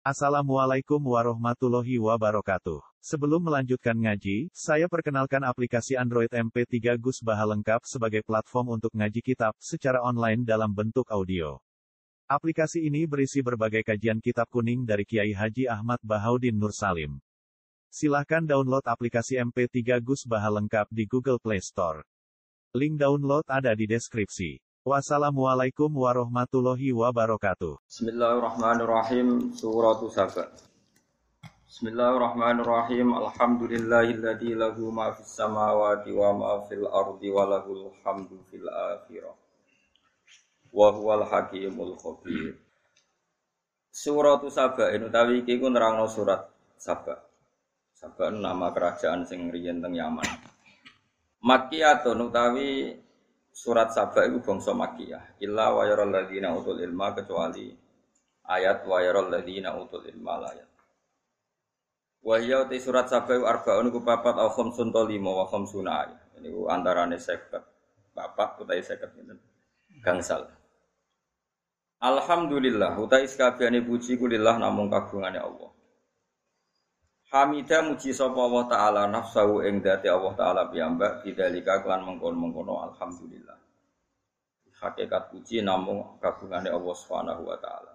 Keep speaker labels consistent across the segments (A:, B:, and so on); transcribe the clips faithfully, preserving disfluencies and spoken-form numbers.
A: Assalamualaikum warahmatullahi wabarakatuh. Sebelum melanjutkan ngaji, saya perkenalkan aplikasi Android M P tiga Gus Baha lengkap sebagai platform untuk ngaji kitab secara online dalam bentuk audio. Aplikasi ini berisi berbagai kajian kitab kuning dari Kiai Haji Ahmad Bahaudin Nur Salim. Silahkan download aplikasi M P tiga Gus Baha lengkap di Google Play Store. Link download ada di deskripsi. Wassalamualaikum warahmatullahi wabarakatuh.
B: Bismillahirrahmanirrahim. Suratu Saba. Bismillahirrahmanirrahim. Alhamdulillahilladzi lahu ma fis samawati wa ma fil ardi wa lahul hamdu fil akhirah. Wa huwal hakimul khabir. Suratu Saba utawi iki ku nerangno surat Saba. Saba nama kerajaan sing riyen teng Yaman. Makkiyatun utawi surat Saba itu bangsa Makkiyah. Illa wa yaral ladzina utul ilma, kecuali ayat wa yaral ladzina utul ilma ayat. Wa ya te surat Saba itu arbaun ku papat au khamsun to lima wa khamsuna ayat. Ini ku antarane seket papat utawi seket pinten gangsal. Alhamdulillah utawi sakabehane puji ku lillah namung kagungane Allah. Hamidah muji sapa Allah taala nafsahu ing dadi Allah taala piyambak bidzalika kelan mengkon-mengkono alhamdulillah. Hakikat puji namung kagungane Allah Subhanahu wa taala.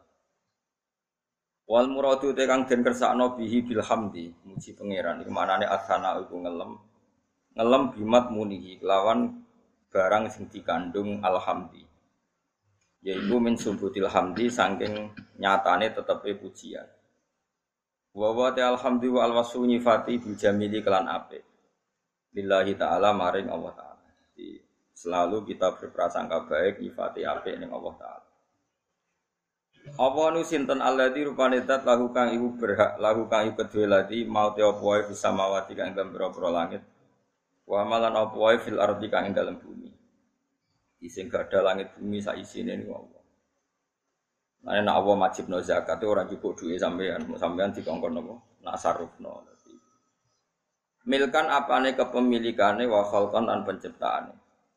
B: Wal muradu te kang den kersakno bihi bil hamdi muji pangeran iku manane asana iku ngelem ngelem bimat munihi kelawan barang sing dikandung alhamdi. Yaiku min subutil hamdi saking nyatane tetepe pujian. Wa wa ta alhamdulillah alwasu nyifati bil jamili kelan apik. Lillahi taala maring Allah taala. Jadi selalu kita berprasangka baik nyifati apik ning Allah taala. Apa nu sinten alladzi rupane zat lahu kang iku berhak lahu kang iku kedue lati mau te apa wae bisa mawati kang dalem pira-pira langit. Wa malan apa wae fil ardi kang ing dalem bumi. Sing gadah langit bumi sak isine niku Allah. Nah, nek Allah wajibno zakat itu ora cukup duwe sampean, sampean dikongkon napa? Nak sarufno. Milkan apane kepemilikane wa khalqan lan penciptaane.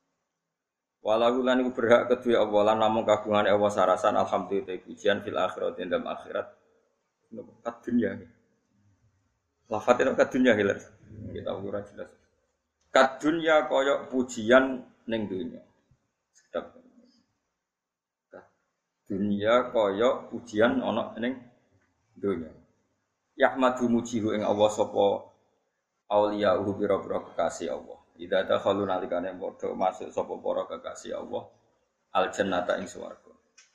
B: Walau lan iku berhak kedue Allah lan namung kagungane Allah sarasan alhamdulillah pujian fil akhirat ing dalam akhirat. Kat dunya. Lafate kat dunya hilir. Kita ora jelas. Kat dunya kaya pujian ning dunya. Sedap. Dunia kaya pujian ana ning donya. Yahmadu mujihu ing Allah sapa auliyahu pira-pira kekasih Allah. Idza dakhalu nalikane padha masuk sapa para kekasih Allah al jannata ing swarga.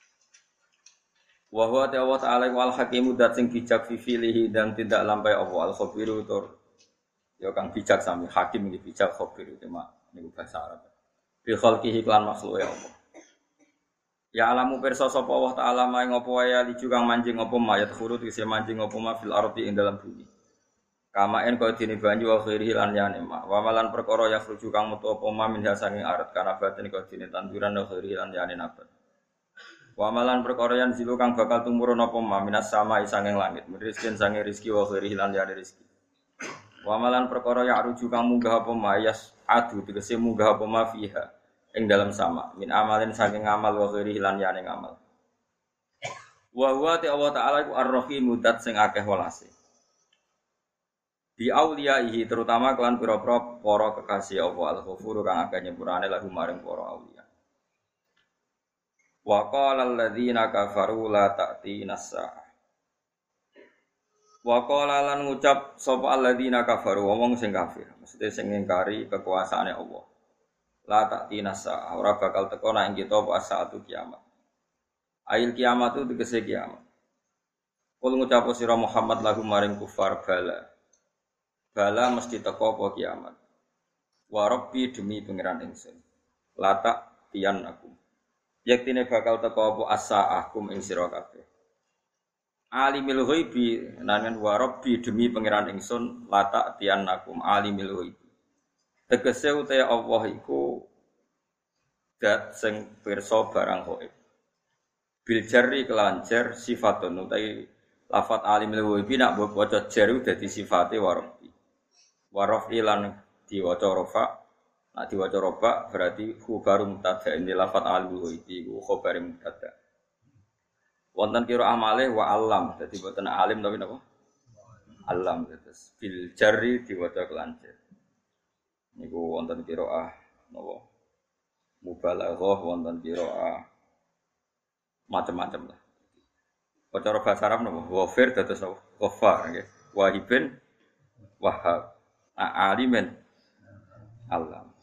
B: Wa huwa ta'ala wal hakimu dat sing bijak fi filihi dan tidak lampai Allah al khabiru tur ya kang bijak sami hakim iki bijak khabiru tema niku bahasa Arab. Bi khalqihi lan makhluke Allah. Ya alamu pirsa sapa Allah taala maing apa wae liju kang manjing apa mayat khurut isih manjing apa ma fil ardi ing dalam bumi. Kamaen kaya dene banyu wa khairi lan yane ma. Wa malan perkara ya khruju kang metu apa ma min sanging arat kana batin kaya dene tanduran wa khairi lan yane nabat. Wa malan perkara yang zilu kang bakal tumurun apa ma minas sama sanging langit. Rizkin sanging rezeki wa khairi lan yane rezeki. Wa malan perkara ya ruju kang munggah apa ma yas adu tegese munggah apa ma fiha. Ing dalam sama min amalin saking amal wa ghairi lan yane ngamal wa huwa ta Allah taala iku ar-rahim mudat sing akeh welase bi auliyaihi terutama kelan pira-pira para kekasih Allah al-ghafur kang akeh nyepurane lagu maring para auliya wa qala alladziina kafaru la ta'tina as-saah wa qala lan ngucap sapa alladziina kafaru wong sing kafir maksudnya sing ngingkari kekuasaane Allah. La ta'tina sa'ah ora bakal teko nek kita apa saatu kiamat. Ail kiamat itu tegese kiamat. Kul ngucap sira Muhammad lagu maring kufar bala. Bala mesti teko apa kiamat. Wa rabbi demi pangeran ingsun. La ta'tiyan aku. Yektine bakal teko apa as-sa'ah kum ing sira kabeh. Alimil ghaibi nan wa rabbi demi pangeran ingsun la ta'tiyan aku alimil ghaibi. Tegese uta Allah iku dat sing pirsa barang ghaib. Bil jarri kelancer sifatun utai lafat alimul ghaibi nak waca jar dadi sifate warabbi. Waraf ilan diwaca rafa, nak diwaca rafa berarti khabar mubtada ini lafat alimul ghaibi iku khabar mubtada. Wonten qiraah malih wa alam. Dadi boten alim tapi napa? Alam terus bil jari diwaca kelan jar. Niku wonten qiraah napa? Mubalaghah wonten qiraah macam-macam lah. Cara bahasa Arab napa? Ghafir dados napa? Ghaffar nggih. Wahibin Wahhab. Alimin alam.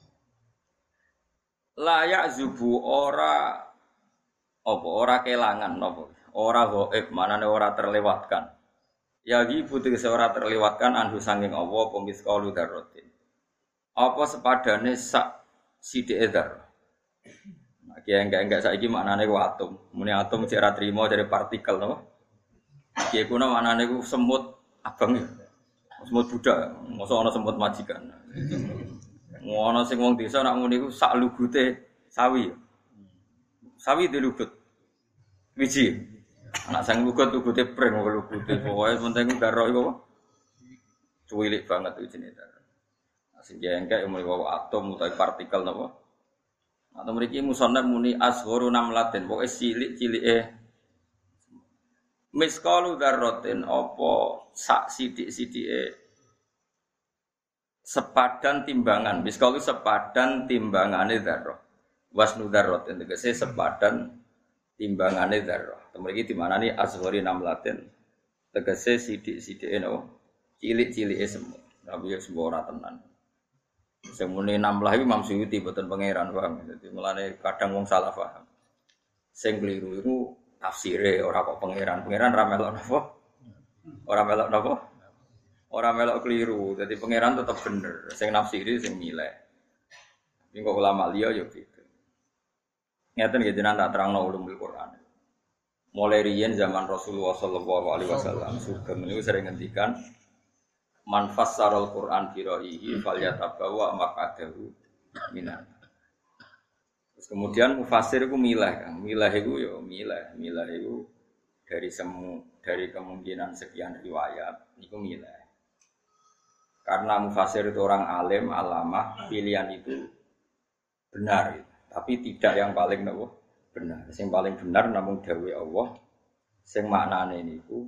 B: Layak zubu ora apa ora kelangan napa? Ora ghaib, manane ora terlewatkan. Ya ibu tegese ora terlewatkan anhu sanging Allah pemis qaulu dzarratin. Apa sepadane sak sithike dzarrah. Nah, ki enggak-enggak saiki maknane ku atom. Muni atom cek ra trimo dari partikel napa? Ki kuno maknane ku semut abang ya. Semut budak, mosok ana semut majikan. Ngono sing wong desa nak ngene iku sak lugute sawi. Sawi dilugut. Wiji. Anak sang lugut lugute pring kok lugute. Pokoke penting karo iku apa? Cuwilik banget wijine ta. Sing jengkek muni wae atom utawa partikel napa? Atau mriki musannaf muni asgharu namlatin. Pokoke cilik-cilike miskalu dzarratin apa sak sithik-sithike sepadan timbangan. Miskalu sepadan timbangane dzarrah. Wasnu dzarratin tegese sepadan timbangane dzarrah. Mriki dimanani asghari namlatin tegese sithik-sithike no cilik-cilike semut. Tapi ya semua ora tenan. Sing muni namlah iki Imam Suyuti boten pangeran paham. Dadi mulane kadang wong salah paham. Sing kliru iku tafsire ora kok pangeran. Pangeran ra melok napa? Ora melok napa? Ora melok kliru. Dadi pangeran tetep bener. Sing nafsiri sing milih. Iki kok ulama liya ya gitu. Ngeten nggih jenengan tak terangno ulumul Quran. Mulai riyen zaman Rasulullah sallallahu alaihi wasallam sugeng niku sering ngendikan man fassarul Quran bi ra'yihi falyatabawa maq'adahu minan. Terus kemudian mufassir iku milah kan. Milah iku ya milah, milah iku dari semu dari kemungkinan sekian riwayat niku milah. Karena mufassir itu orang alim, alamah, pilihan itu benar gitu. Tapi tidak yang paling nopo benar. Sing paling benar namung dawuh Allah sing maknane niku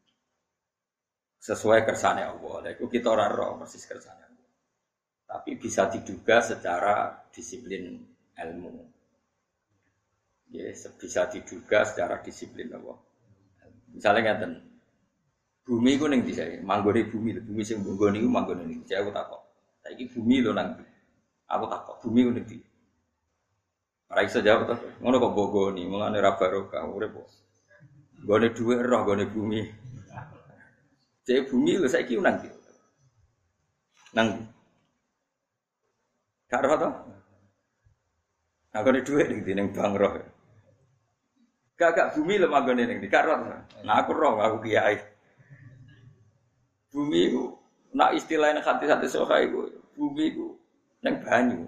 B: sesuai kersane Allah. Lha iku kita ora ro persis kersane Allah. Tapi bisa diduga secara disiplin ilmu. Ya, bisa diduga secara disiplin Allah. Misalnya ngaten. Bumi iku ning ndi sae? Manggone bumi, bumi sing manggon niku manggone ning ndi? Aku takok. Saiki bumi lho nang ndi? Aku takok, bumi ku ning ndi? Ora iso jawab to. Ngono kok bogoni, mulane ra barokah urip kok. Gone dhuwit roh gone bumi. Cek bumi lho saiki nang ndi? Nang karo to? Aku nek dhuwit ning ndi ning bank roh. Gak bumi lho manggone ning ndi? Karo. Nah aku roh aku kiai. Bumi ku nak istilahnya hati-hati soha iku bumi ku ning banyu.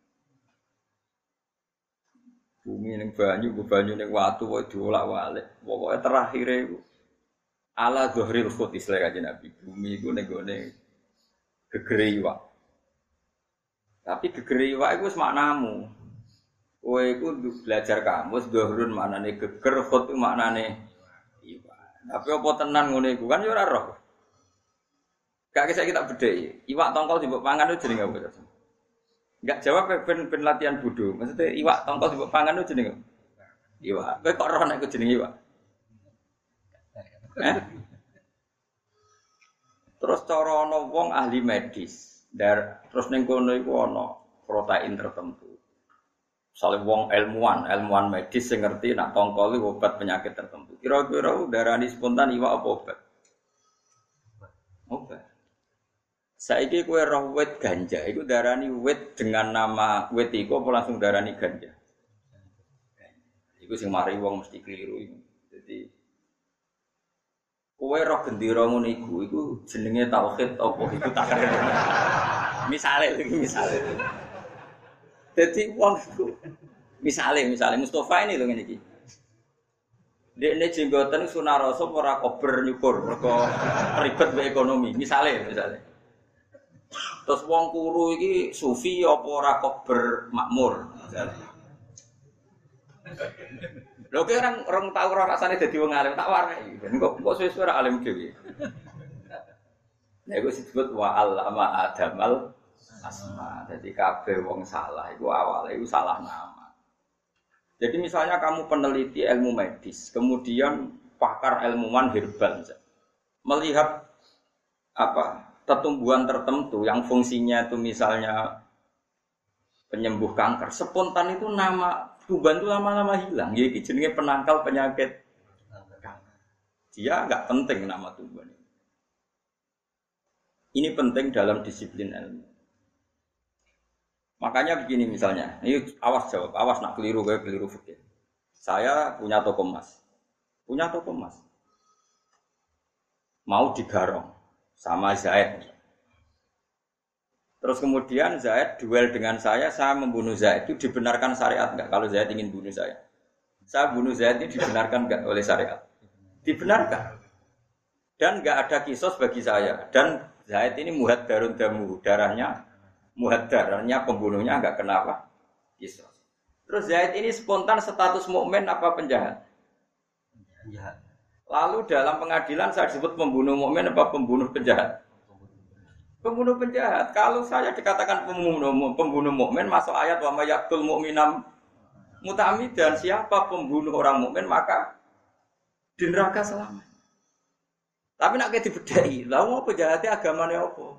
B: Bumi ning banyu, ku banyu ning watu kok diolak-walik. Pokoke terakhir iku ala dhahril khut istilah Kanjeng Nabi. Bumi iku ning gone gegere iwak. Tapi gegere iwak iku wis maknamu. Kowe iku belajar kamus dhahrun maknane geger, khut maknane iwak. Tapi apa tenan ngene iku kan ya ora roh. Gak kisah kita bedheki. Iwak tongkol dimbok pangan itu jenenge apa? Enggak jawab ben ben latihan bodho. Maksudnya iwak tongkol dimbok pangan itu jenenge iwak. Kowe kok roh nek iku jenenge iwak? Eh? Terus cara ana wong ahli medis, dar terus ning kono iku ana protein tertentu. Misale wong ilmuwan, ilmuwan medis sing ngerti nak tongkol iku obat penyakit tertentu. Kira-kira darani spontan iwak apa obat? Obat. Saiki kowe roh wit ganja, iku darani wit dengan nama wit iku apa langsung darani ganja? Iku sing mari wong mesti keliru iku. Dadi kowe roh gendera ngono iku, iku jenenge tauhid apa iku takrir. Misale iki misale. Dadi wong iku misale misale Mustofa ini lho ngene iki. Dekne jenggoten sunarasa ora kober nyukur mergo ribet wae ekonomi. Misale misale. Terus wong kuru iki sufi apa ora kober makmur. Lho ki orang orang tahu ora rasane dadi wong alim tak warai. Kok kok suwe-suwe alim dhewe. Nah iku disebut wa allama adamal asma. Jadi kabeh wong salah iku awale iku salah nama. Jadi misalnya kamu peneliti ilmu medis, kemudian pakar ilmuwan herbal melihat apa pertumbuhan tertentu yang fungsinya itu misalnya penyembuh kanker, spontan itu nama tumbuhan itu lama-lama hilang. Jadi jenenge penangkal penyakit kanker. Dia enggak penting nama tumbuhan ini. Ini penting dalam disiplin ilmu. Makanya begini misalnya, ini awas jawab, awas nak keliru kayak keliru fikih. Saya punya toko emas, punya toko emas, mau digarong sama Zaid. Terus kemudian Zaid duel dengan saya, saya membunuh Zaid. Itu dibenarkan syariat enggak? Kalau Zaid ingin bunuh saya, saya bunuh Zaid itu dibenarkan enggak oleh syariat? Dibenarkan. Dan enggak ada kisos bagi saya. Dan Zaid ini muhaddarun damu, darahnya muhaddarnya pembunuhnya enggak kenapa? Kisos. Terus Zaid ini spontan status mukmin apa penjahat? Penjahat. Lalu dalam pengadilan saya disebut pembunuh mukmin apa pembunuh penjahat? Pembunuh penjahat. Kalau saya dikatakan pembunuh pembunuh mukmin masuk ayat wa may yaqtul mu'minam muta'ammidan, siapa pembunuh orang mukmin maka di neraka selamanya. Tapi nak kayak dibedai, lha mau penjahatnya agamane apa?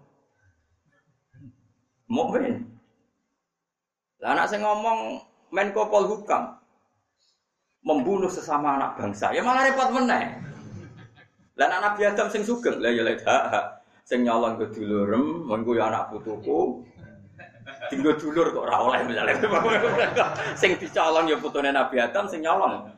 B: Mukmin. Lah anak saya ngomong Menko Polhukam membunuh sesama anak bangsa, ya malah repot meneh. Lah anak Nabi Adam sing sugeng, lah ya lek hak sing nyolong ke dulurem, mengko ya anak putuku. Tinggo dulur kok ora oleh misale. Sing dicolong ya putune Nabi Adam sing nyolong.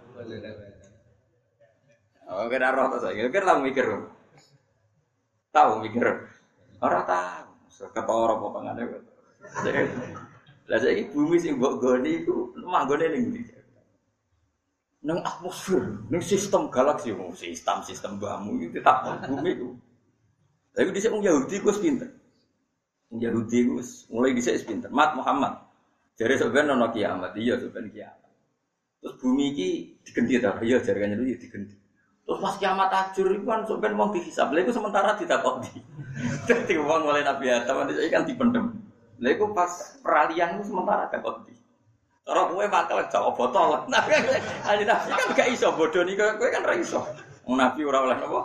B: Oh, kira roh ta saya. Kira tahu mikir. Tahu mikir. Ora tahu. Ketara apa pangane. Lah saiki bumi sing mbok goni iku manggone ning ndi? Nang atmosfer, nang sistem galaksi, oh, sistem sistem bamu itu tak bumi itu. Tapi dhisik wong Yahudi ku wis pinter. Wong Yahudi ku mulai dhisik wis pinter. Mat Muhammad. Jare sampeyan ana kiamat, iya sampeyan kiamat. Terus bumi iki digenti ta? Iya jarane itu digenti. Terus pas kiamat ajur iku kan sampeyan wong dihisab. Lha iku sementara ditakoki. Dadi wong mulai Nabi Adam iki kan dipendem. Lha iku pas peralihan itu sementara takoki. Ora kowe bakal jawab botol. Nabi kan gak iso bodoni kowe kan ora iso. Wong Nabi ora oleh napa?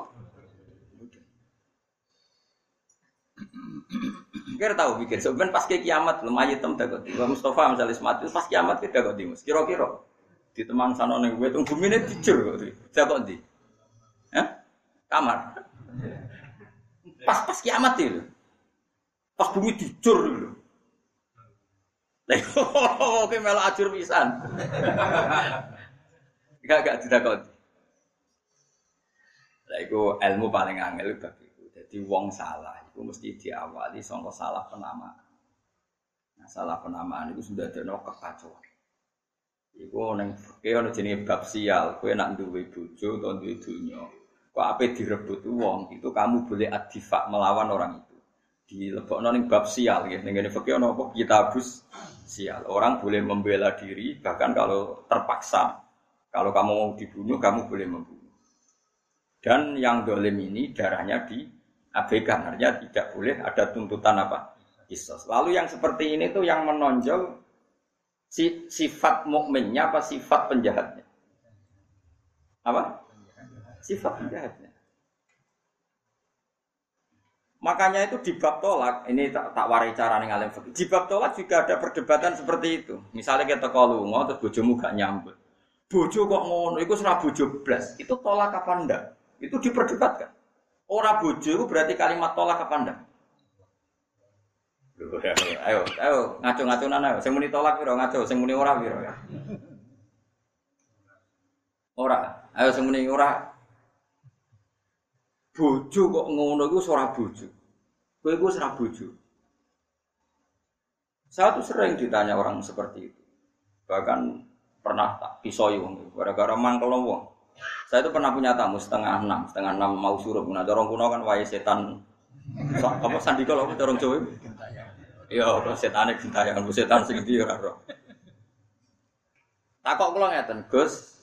B: Kira tahu pikir sebenarnya pas ke kiamat lumayan tem takut. Wa Mustafa misalnya mati pas kiamat kita kok dimus. Kira-kira di temang sana ning kowe tung bumine dijur kok. Jakok ndi? Hah? Kamar. Pas pas kiamat itu. Pas bumi dijur lho. Oke melok ajur pisan. Gak gak ditakoni. Lah iku ilmu paling angel bab iku. Dadi wong salah iku mesti diawali saka salah penamaan. Nah, salah penamaan itu sudah ada kekacauan. Iku ning fikih ana jenenge bab sial. Kowe nak duwe bojo utawa duwe donya, kok ape direbut wong, itu kamu boleh adifak melawan orang itu. Dilebokno ning bab sial nggih. Ning ngene fikih ana apa? Kitabus sial. Orang boleh membela diri bahkan kalau terpaksa. Kalau kamu mau dibunuh, kamu boleh membunuh. Dan yang dolim ini darahnya diabaikan, artinya tidak boleh ada tuntutan apa? Kisos. Lalu yang seperti ini tuh yang menonjol si, sifat mukminnya apa sifat penjahatnya? Apa? Sifat penjahatnya. Makanya itu di bab tolak, ini tak, tak warai cara ning alim fikih. Di bab tolak juga ada perdebatan seperti itu. Misalnya kita kalau lunga terus bojomu gak nyambut. Bojo kok ngono, iku ora bojo blas. Itu tolak apa ndak? Itu diperdebatkan. Ora bojo itu berarti kalimat tolak apa ndak? Loh, ayo, ayo ngaco-ngaconan ayo. Sing muni tolak piro ngaco, sing muni ora piro ya. Ora, ayo sing muni ora. Bojo kok ngono iku ora bojo. Kowe iku ora bojo. Saya tuh sering ditanya orang seperti itu. Bahkan pernah tak pisoi wong gara-gara mangkel wong. Saya itu pernah punya tamu setengah enam, setengah enam mau suruh. Nah, dorong kuno kan wae setan. So, apa sandika lho dorong Jawa? Iya, setane gentayangan setan sing ndi ora ro. Takok kula ngeten, Gus,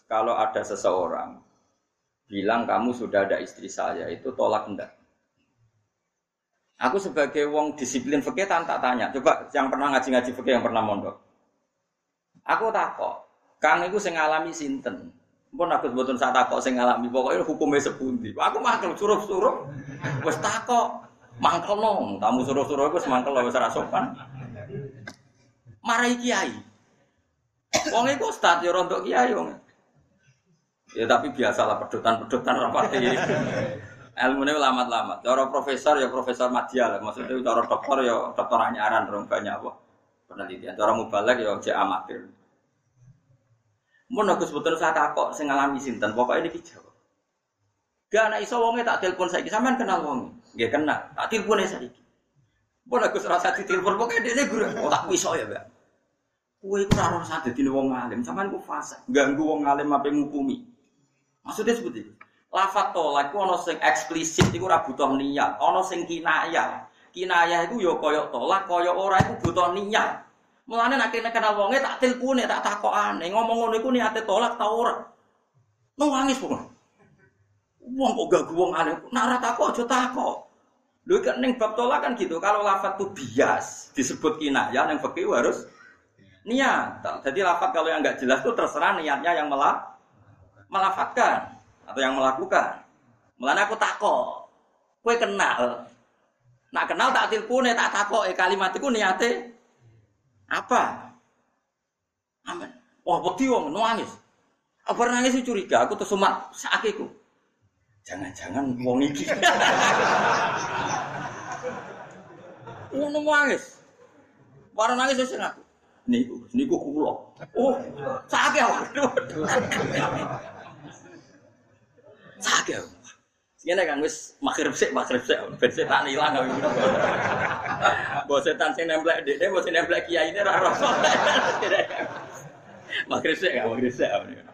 B: kalau ada seseorang bilang kamu sudah ada istri saya, itu tolak enggak? Aku sebagai wong disiplin fikih tak tanya. Coba yang pernah ngaji-ngaji fikih yang pernah mondok. Aku takok, Kang iku sing ngalami sinten? Pun aku sebutun sak takok sing ngalami, pokoknya hukumnya sepundi. Aku mangkel suruh-suruh, wis takok, mangkel nong, tamu suruh-suruh wis mangkel wis ora sopan. Marai kiai. Wong iku ustaz ya rontok kiai wong. Ya tapi biasalah pedotan-pedotan rapati. Ilmune lamat-lamat. Cara profesor ya profesor madya lah. Maksudnya cara dokter ya dokter anyaran rong banyak apa penelitian. Cara mubalek ya jek amatir. Mun aku sebetulnya saya takok sing ngalami sinten, pokoke niki jawab. Gak ana iso wonge tak telepon saiki, sampean kenal wong. Nggih kenal, tak telepone saiki. Mun aku serasa ditelepon pokoke dene guru, oh tak iso ya, Mbak. Kowe iku ora usah dadi wong alim, sampean ku fase, ganggu wong alim ape ngukumi. Maksudnya seperti itu. Lafat tolak iku ana sing eksplisit iku ora butuh niat, ana sing kinayah. Kinayah iku ya kaya tolak, kaya ora iku butuh niat. Mulane nek kene kenal wonge tak tilpune, tak takokane, ngomong ngono iku niate tolak ta ora. Nangis pokoke. Wong kok gak wong alim, nek ora takok aja takok. Lho kan ning bab tolak kan gitu, kalau lafat itu bias disebut kinayah yang fikih harus niat. Jadi lafat kalau yang enggak jelas itu terserah niatnya yang melak melafatkan atau yang melakukan. Mulane aku takok. Kowe kenal. Nak kenal tak tilpune, tak takoke kalimat iku niate apa? Amin. Wah, wedi wong nangis. Apa nangis curiga, aku terus sumat sakiku. Jangan-jangan wong iki. Ngono nangis. Para nangis wis aku. Niku, niku kula. Oh, sakit waduh. Sakit. Ngene kan wis magrib sik, magrib sik, ben setan ilang kok. Mbok setan sing nemplek ndekne, mbok sing nemplek kiyaine ora ora. Magrib sik, magrib sik.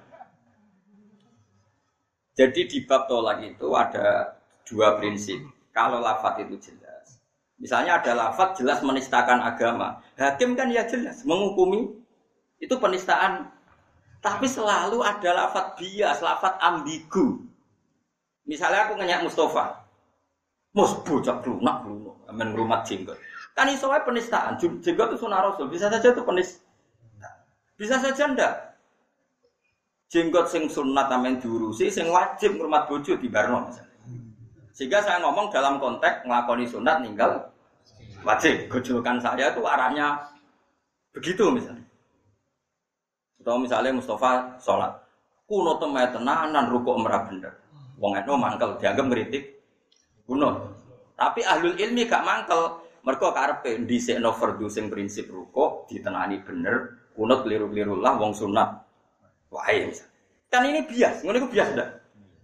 B: Jadi di bab tolak itu ada dua prinsip. Kalau lafaz itu jelas. Misalnya ada lafaz jelas menistakan agama. Hakim kan ya jelas menghukumi itu penistaan. Tapi selalu ada lafaz bias, lafaz ambigu. Misalnya aku ngenyak Mustafa, Mus bocah lunak lunak, amen ngrumat jenggot. Kan iso wae penistaan. Jenggot itu sunah Rasul, bisa saja itu penistaan. Bisa saja ndak. Jenggot sing sunat amen diurusi, sing wajib ngrumat bojo dibarno misalnya. Sehingga saya ngomong dalam konteks nglakoni sunat ninggal wajib. Gojokan saya itu arahnya begitu misalnya. Atau misalnya Mustafa sholat, kuno temai tenanan rukuk merah bener. Wong eno mangkel dianggap ngritik kuno. Tapi ahlul ilmi gak mangkel. Mergo karepe dhisikno fardhu sing prinsip rukuk ditenani bener, kunut keliru-keliru lah wong sunat. Wae misal. Kan ini bias, ngono iku bias ndak?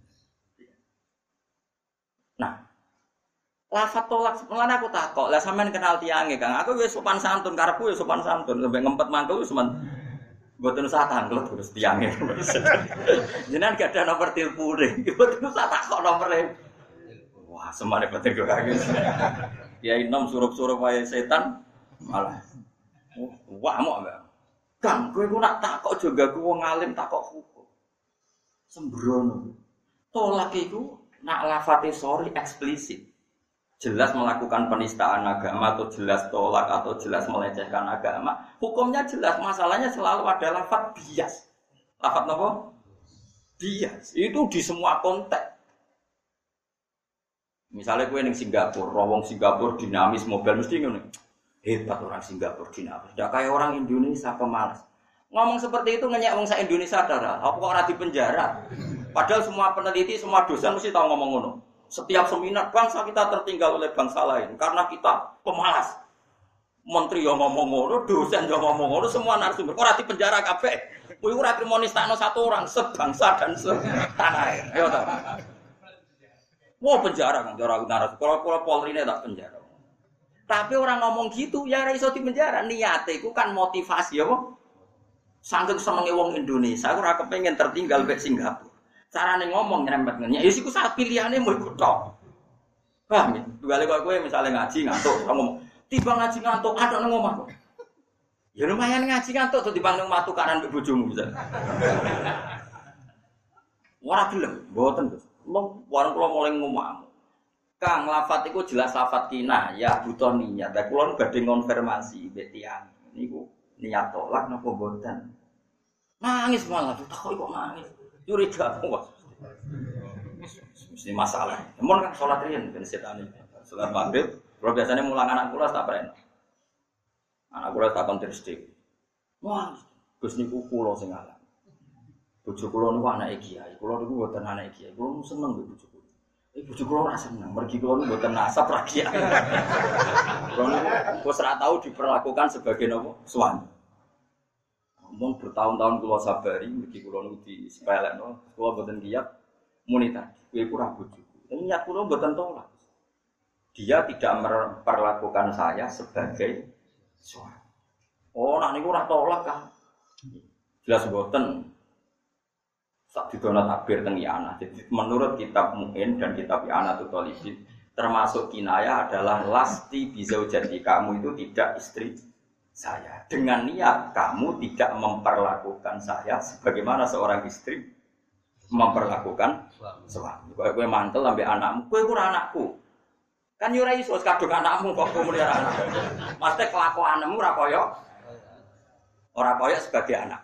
B: Nah, lafaz tolak mulane aku takok, lah sampean kenal tiange, Kang. Aku wis sopan santun, karepku wis sopan santun, sampe ngempet mangkel wis sopan. Mboten usah tanglet terus tiange. Jenengan gak ada nomor telepone. Mboten usah takok nomere. Wah, semare batin kok kaget. Ya inom surup-surup wae setan malah. Wah, mok Mbak. Kang, kowe ku nak takok juga ku wong alim takok hukum. Sembrono. Tolak iku nak lafate sorry eksplisit. Jelas melakukan penistaan agama atau jelas tolak atau jelas melecehkan agama, hukumnya jelas. Masalahnya selalu ada lafaz bias. Lafaz apa? Bias. Itu di semua konteks. Misalnya gue ning Singapura, wong Singapura dinamis, mobil mesti ngono. Hebat orang Singapura dinamis. Ndak kayak orang Indonesia pemalas. Ngomong seperti itu ngenyek wong sak Indonesia darah. Apa kok ora di penjara? Padahal semua peneliti, semua dosen mesti tahu ngomong ngono. Setiap seminar bangsa kita tertinggal oleh bangsa lain karena kita pemalas. Menteri yang ngomong ngono, dosen yang ngomong ngono, semua narasumber ora di penjara kabeh. Kuwi ora trimo nistakno satu orang sebangsa dan setanah air. Ayo ta. Wah penjara kan cara narasumber. Kalau Polri ne tak penjara. Tapi orang ngomong gitu ya ora iso di penjara. Niate iku kan motivasi apa? Sanggeuk senenge wong Indonesia, aku ora kepengin tertinggal mek Singapura. Carane ngomong nyerempet ngene. Ya iku sak pilihane mau ikut tok. Paham ya? Balik kok kowe misale ngaji ngantuk, ngomong, "Tiba ngaji ngantuk, ada nang omah kok." Ya lumayan ngaji ngantuk tuh dibanding matu karan mbek bojomu bisa. Ora gelem, mboten Gus. Wong warung kula mulai ngomong. Kang lafat iku jelas lafat kina, ya butuh niat. Lah kula badhe konfirmasi mbek tiyang. Niku niat tolak napa mboten? Nangis malah takok kok nangis. Curiga kok. Mesti masalah. Mun kan salat riyen ben setane. Salat maghrib, kula biasane mulang anak kula tak preno. Anak kula tak kon tristik. Wah, Gus niku kula sing ngalah. Bojo kula niku anake kiai. Kula niku mboten anake kiai. Kula seneng mbek bojo kula. Eh bojo kula ora seneng. Mergi kula niku mboten nasab ra kiai. Kula niku wis ora tau diperlakukan sebagai napa? Suami. Mun bertahun-tahun kula sabari mergi kula niku disepelekno. Kula mboten kiat muni tadi. Kowe ku ra bojoku. Niat kula mboten tolak. Dia tidak memperlakukan saya sebagai suami. Oh, nak niku ora tolak kan. Jelas mboten. Sak didono takbir teng Iyana. Jadi menurut kitab Mu'in dan kitab I'anatul Talibin termasuk kinaya adalah lasti bizaujati, kamu itu tidak istri saya. Dengan niat kamu tidak memperlakukan saya sebagaimana seorang istri memperlakukan suami. Kowe kowe mantel ambek anakmu, kowe ora anakku. Kan yo ora iso kadung anakmu kok kowe melihara anak. Mesti kelakuanmu ora kaya ora kaya sebagai anak.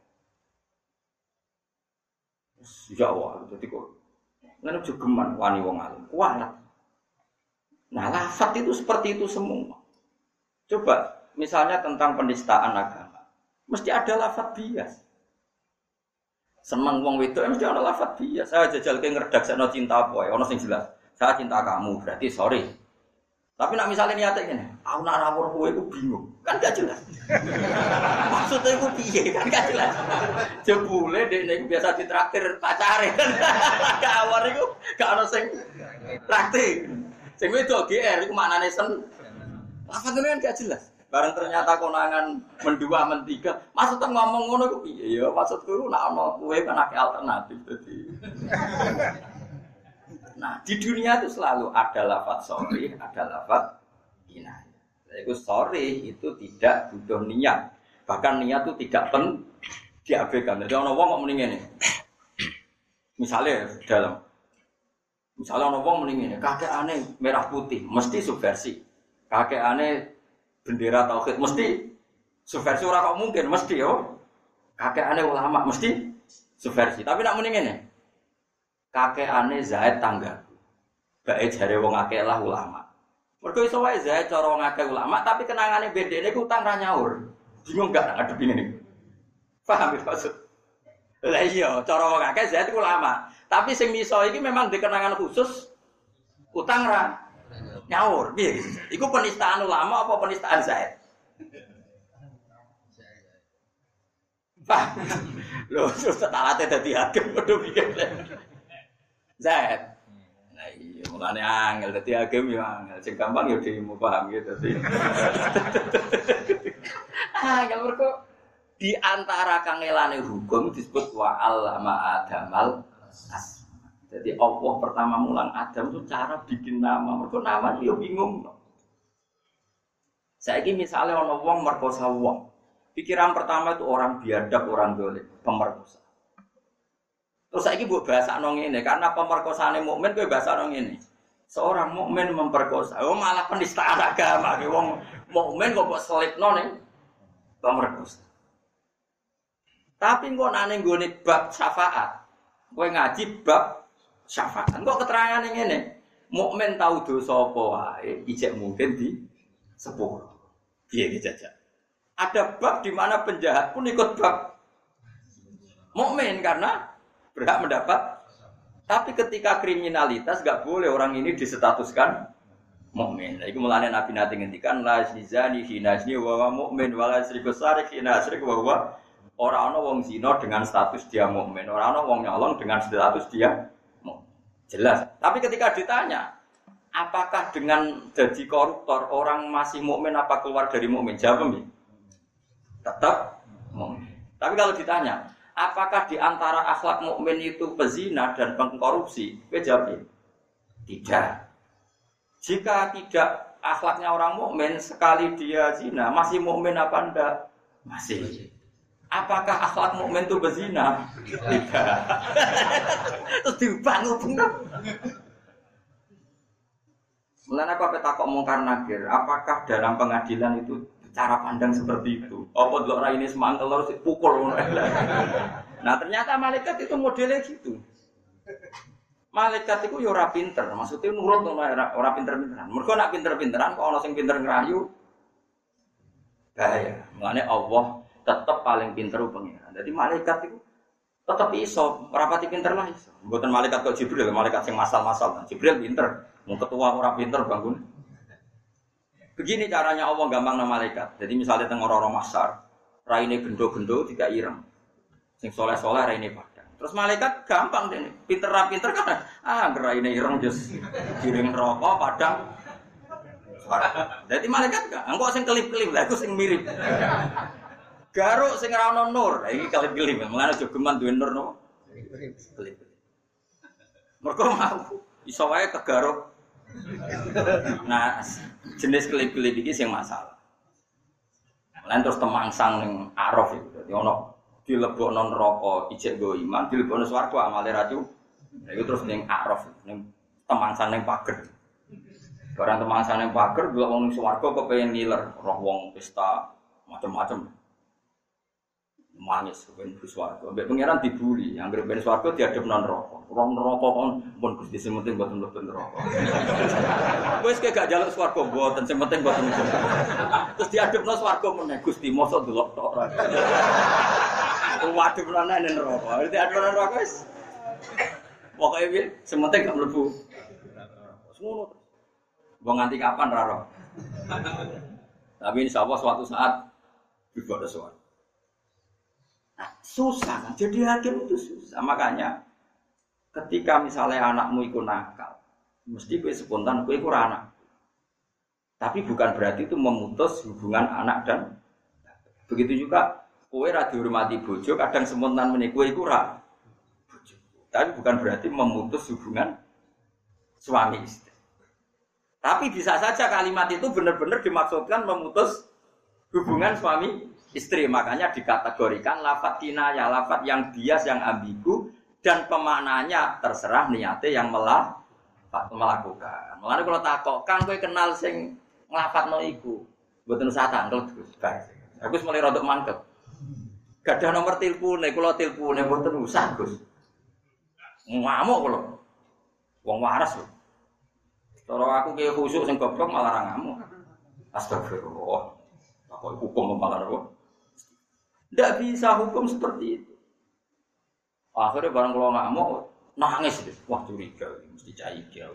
B: Ya Allah, jadi kok ngene jogeman wani wong alim. Kualat. Nah, lafaz itu seperti itu semua. Coba misalnya tentang penistaan agama. Mesti ada lafaz bias. Seneng wong wedok mesti ada lafaz bias. Saya jajal ke ngredaksekno cinta apa ya, ono sing jelas. Saya cinta kamu, berarti sorry. Tapi nak misalnya niatnya gini, aku nak rawuh kowe iku bingung, kan gak jelas. Maksudnya iku piye kan gak jelas. Jebule dekne iku biasa ditraktir pacare. Kawar iku gak ono sing traktir. Sing wedok G R iku maknane sen. Lafadzane kan gak jelas. Bareng ternyata konangan mendua mentiga, maksudnya ngomong ngono iku piye ya? Maksudku iku nak ono kowe kan akeh alternatif dadi. Nah, di dunia itu selalu ada lafaz sorry, ada lafaz kinayah. Itu sorry itu tidak butuh niat. Bahkan niat itu tidak pen diabaikan. Jadi orang wong kok mending ini. Misalnya dalam, misalnya orang wong mending ini, kakek aneh merah putih, mesti subversi. Kakek aneh bendera tauhid, mesti subversi. Orang kok mungkin, mesti yo. Kakek aneh ulama, mesti subversi. Tapi nak mending ini. Kakek aneh Zaid tangga. Bae jare wong akeh lah ulama. Mergo iso wae Zaid cara wong akeh ulama, tapi kenangane bedene ku utang ra nyaur. Bingung gak ngadepine niku. Paham ya maksud? Lah iya, cara wong akeh Zaid ulama, tapi sing miso iki memang dikenangan khusus utang ra nyaur. Piye iki? Iku penistaan ulama apa penistaan Zaid? Paham. Lho, setalate dadi hakim padha pikir. Zaid. Nah iya, mulane angel dadi hakim yo angel. Sing gampang yo dhewe paham gitu dadi. Ah, kalau mergo di antara kangelane hukum disebut wa allama adamal as. Jadi Allah pertama mulang Adam itu cara bikin nama. Mergo nama yo bingung. Saiki misale ana wong merkosa wong. Pikiran pertama itu orang biadab, orang dolim, pemerkosa. Terus saiki mbok bahasakno ngene, karena pemerkosaane mukmin kowe bahasakno ngene. Seorang mukmin memperkosa, oh malah penistaan agama, wong mukmin kok mbok selipno ning pemerkosa. Tapi engko nek ning gone bab syafaat, kowe ngaji bab syafaat. Engko keterangane ngene, mukmin tahu dosa apa wae, ijek mungkin di sepuluh. Piye iki jajak? Ada bab di mana penjahat pun ikut bab mukmin karena berhak mendapat. Tapi ketika kriminalitas enggak boleh orang ini disestatuskan mukmin. Iku mulane Nabi nate ngendikan la zani hinazni wa mukmin wala syriku sarik hinasrik wa huwa ora ana wong zina dengan status dia mukmin, ora ana wong nyolong dengan status dia mukmin. Jelas. Tapi ketika ditanya, apakah dengan jadi koruptor orang masih mukmin apa keluar dari mukmin? Jawab ya. Tetap mukmin. Tapi kalau ditanya, apakah di antara akhlak mukmin itu pezina dan pengkorupsi? Kowe jawab tidak. Jika tidak akhlaknya orang mukmin, sekali dia zina, masih mukmin apa enggak? Masih. Apakah akhlak mukmin itu berzina? Tidak. Terus dibangun bener. Mulane aku apa takok mungkar nakir, apakah dalam pengadilan itu cara pandang seperti itu? Apa delok ra ini semangkel terus dipukul ngono. Nah, ternyata malaikat itu modelnya gitu. Malaikat itu ya ora pinter, maksudnya nurut ora ora pinter-pinteran. Mergo nek pinter-pinteran kok ana sing pinter ngerayu. Bahaya. Mulane Allah tetap paling pinter pengiran. Jadi malaikat itu tetap iso, rapati pinter lah iso. Mboten malaikat kok Jibril, malaikat sing masal-masal. Jibril pinter, mau ketua ora pinter bangun. Begini caranya Allah gampang nama malaikat. Jadi misalnya teng ora-ora masar, raine gendo-gendo tidak ireng. Sing soleh-soleh raine padang. Terus malaikat gampang dene. Pinter ra pinter kan ah raine ireng jos giring neraka padang. Jadi malaikat gak, engko sing kelip-kelip lha iku sing mirip. Garuk sing ora ono nur, iki kelip-kelip. Mulane aja geman duwe nur no. Kelip. Mergo mau iso wae kegaruk. Nah, jenis kelip-kelip iki sing masalah. Mulane terus temangsang ning araf iku. Dadi ono dilebokno neraka ijek go iman, dilebokno swarga amale ra cu. Nah, iku terus ning araf ning temangsang ning pager. Barang temangsang ning pager delok wong swarga kepengin ngiler, roh wong pesta macam-macam. Manis ben swarga. Mbek pangeran dibuli, anggere ben swarga diadepno neraka. Roh neraka kon pun Gusti sing penting mboten mlebu neraka. Wis ke gak njaluk swarga mboten sing penting mboten. Terus diadepno swarga meneh Gusti mosok delok tok ora. Waduh meneh ning neraka. Berarti adepno neraka wis. Pokoke piye sing penting gak mlebu. Ngono. Wong nganti kapan ra roh. Tapi insyaallah suatu saat dibawa swarga. Nah, susah kan? Jadi hakim itu susah. Makanya ketika misalnya anakmu ikut nakal, mesti kowe spontan kowe iku anak. Tapi bukan berarti itu memutus hubungan anak dan begitu juga kowe ra dihormati bojo, kadang spontan meneh kowe iku ra bojo. Tapi bukan berarti memutus hubungan suami istri. Tapi bisa saja kalimat itu benar-benar dimaksudkan memutus hubungan suami istri, makanya dikategorikan lafadz kinayah, lafadz yang bias, yang ambigu, dan pemaknanya terserah niatnya yang melah, melakukan. Mulane kalau takokkan, kowe kenal sing nglafadzno iku, mboten usah tangkel Gus. Aku wis mulai rodok mangkel. Gadah nomor tilpune, kula tilpune mboten usah Gus. Ngamuk kula. Wong waras lho. Cara aku ki khusuk sing goblok malah ra ngamuk. Astagfirullah. Apa hukum malah kok. Tidak bisa hukum seperti itu. Akhirnya barang kalau ngamuk nangis deh. Wah curiga, mesti caiga.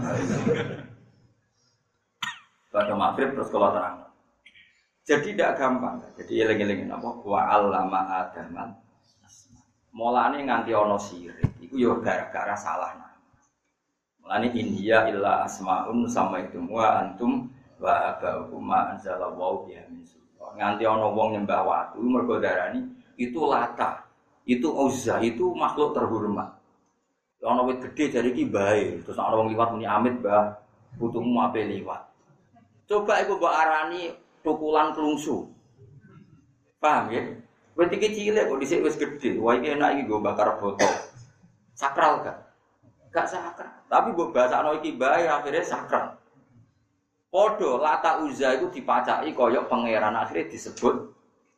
B: Pada maghrib terus kalau terang. Jadi tidak gampang. Jadi eling-elingin apa? Wa allama adaman. Mulane nganti ana sirik. Iku yo gara-gara salah nama. Mulane India illa asmaun sama itu wa antum wa abaukum ma anzalallahu biha min nganti ana wong nyembah watu mergo darani itu Lata, itu Uzza, itu makhluk terhormat. Ana wit gedhe jare iki bae, terus ana wong liwat muni amit, Mbah, putumu ape liwat. Coba iku mbok arani tukulan klungsu. Paham ya? Wit iki cilik kok dhisik wis gedhe. Wah iki enak iki nggo bakar botol. Sakral kan? Gak sakral. Tapi mbok basakno iki bae akhirnya sakral. Podo Lata Uzza itu dipacaki koyok pangeran akhirnya disebut.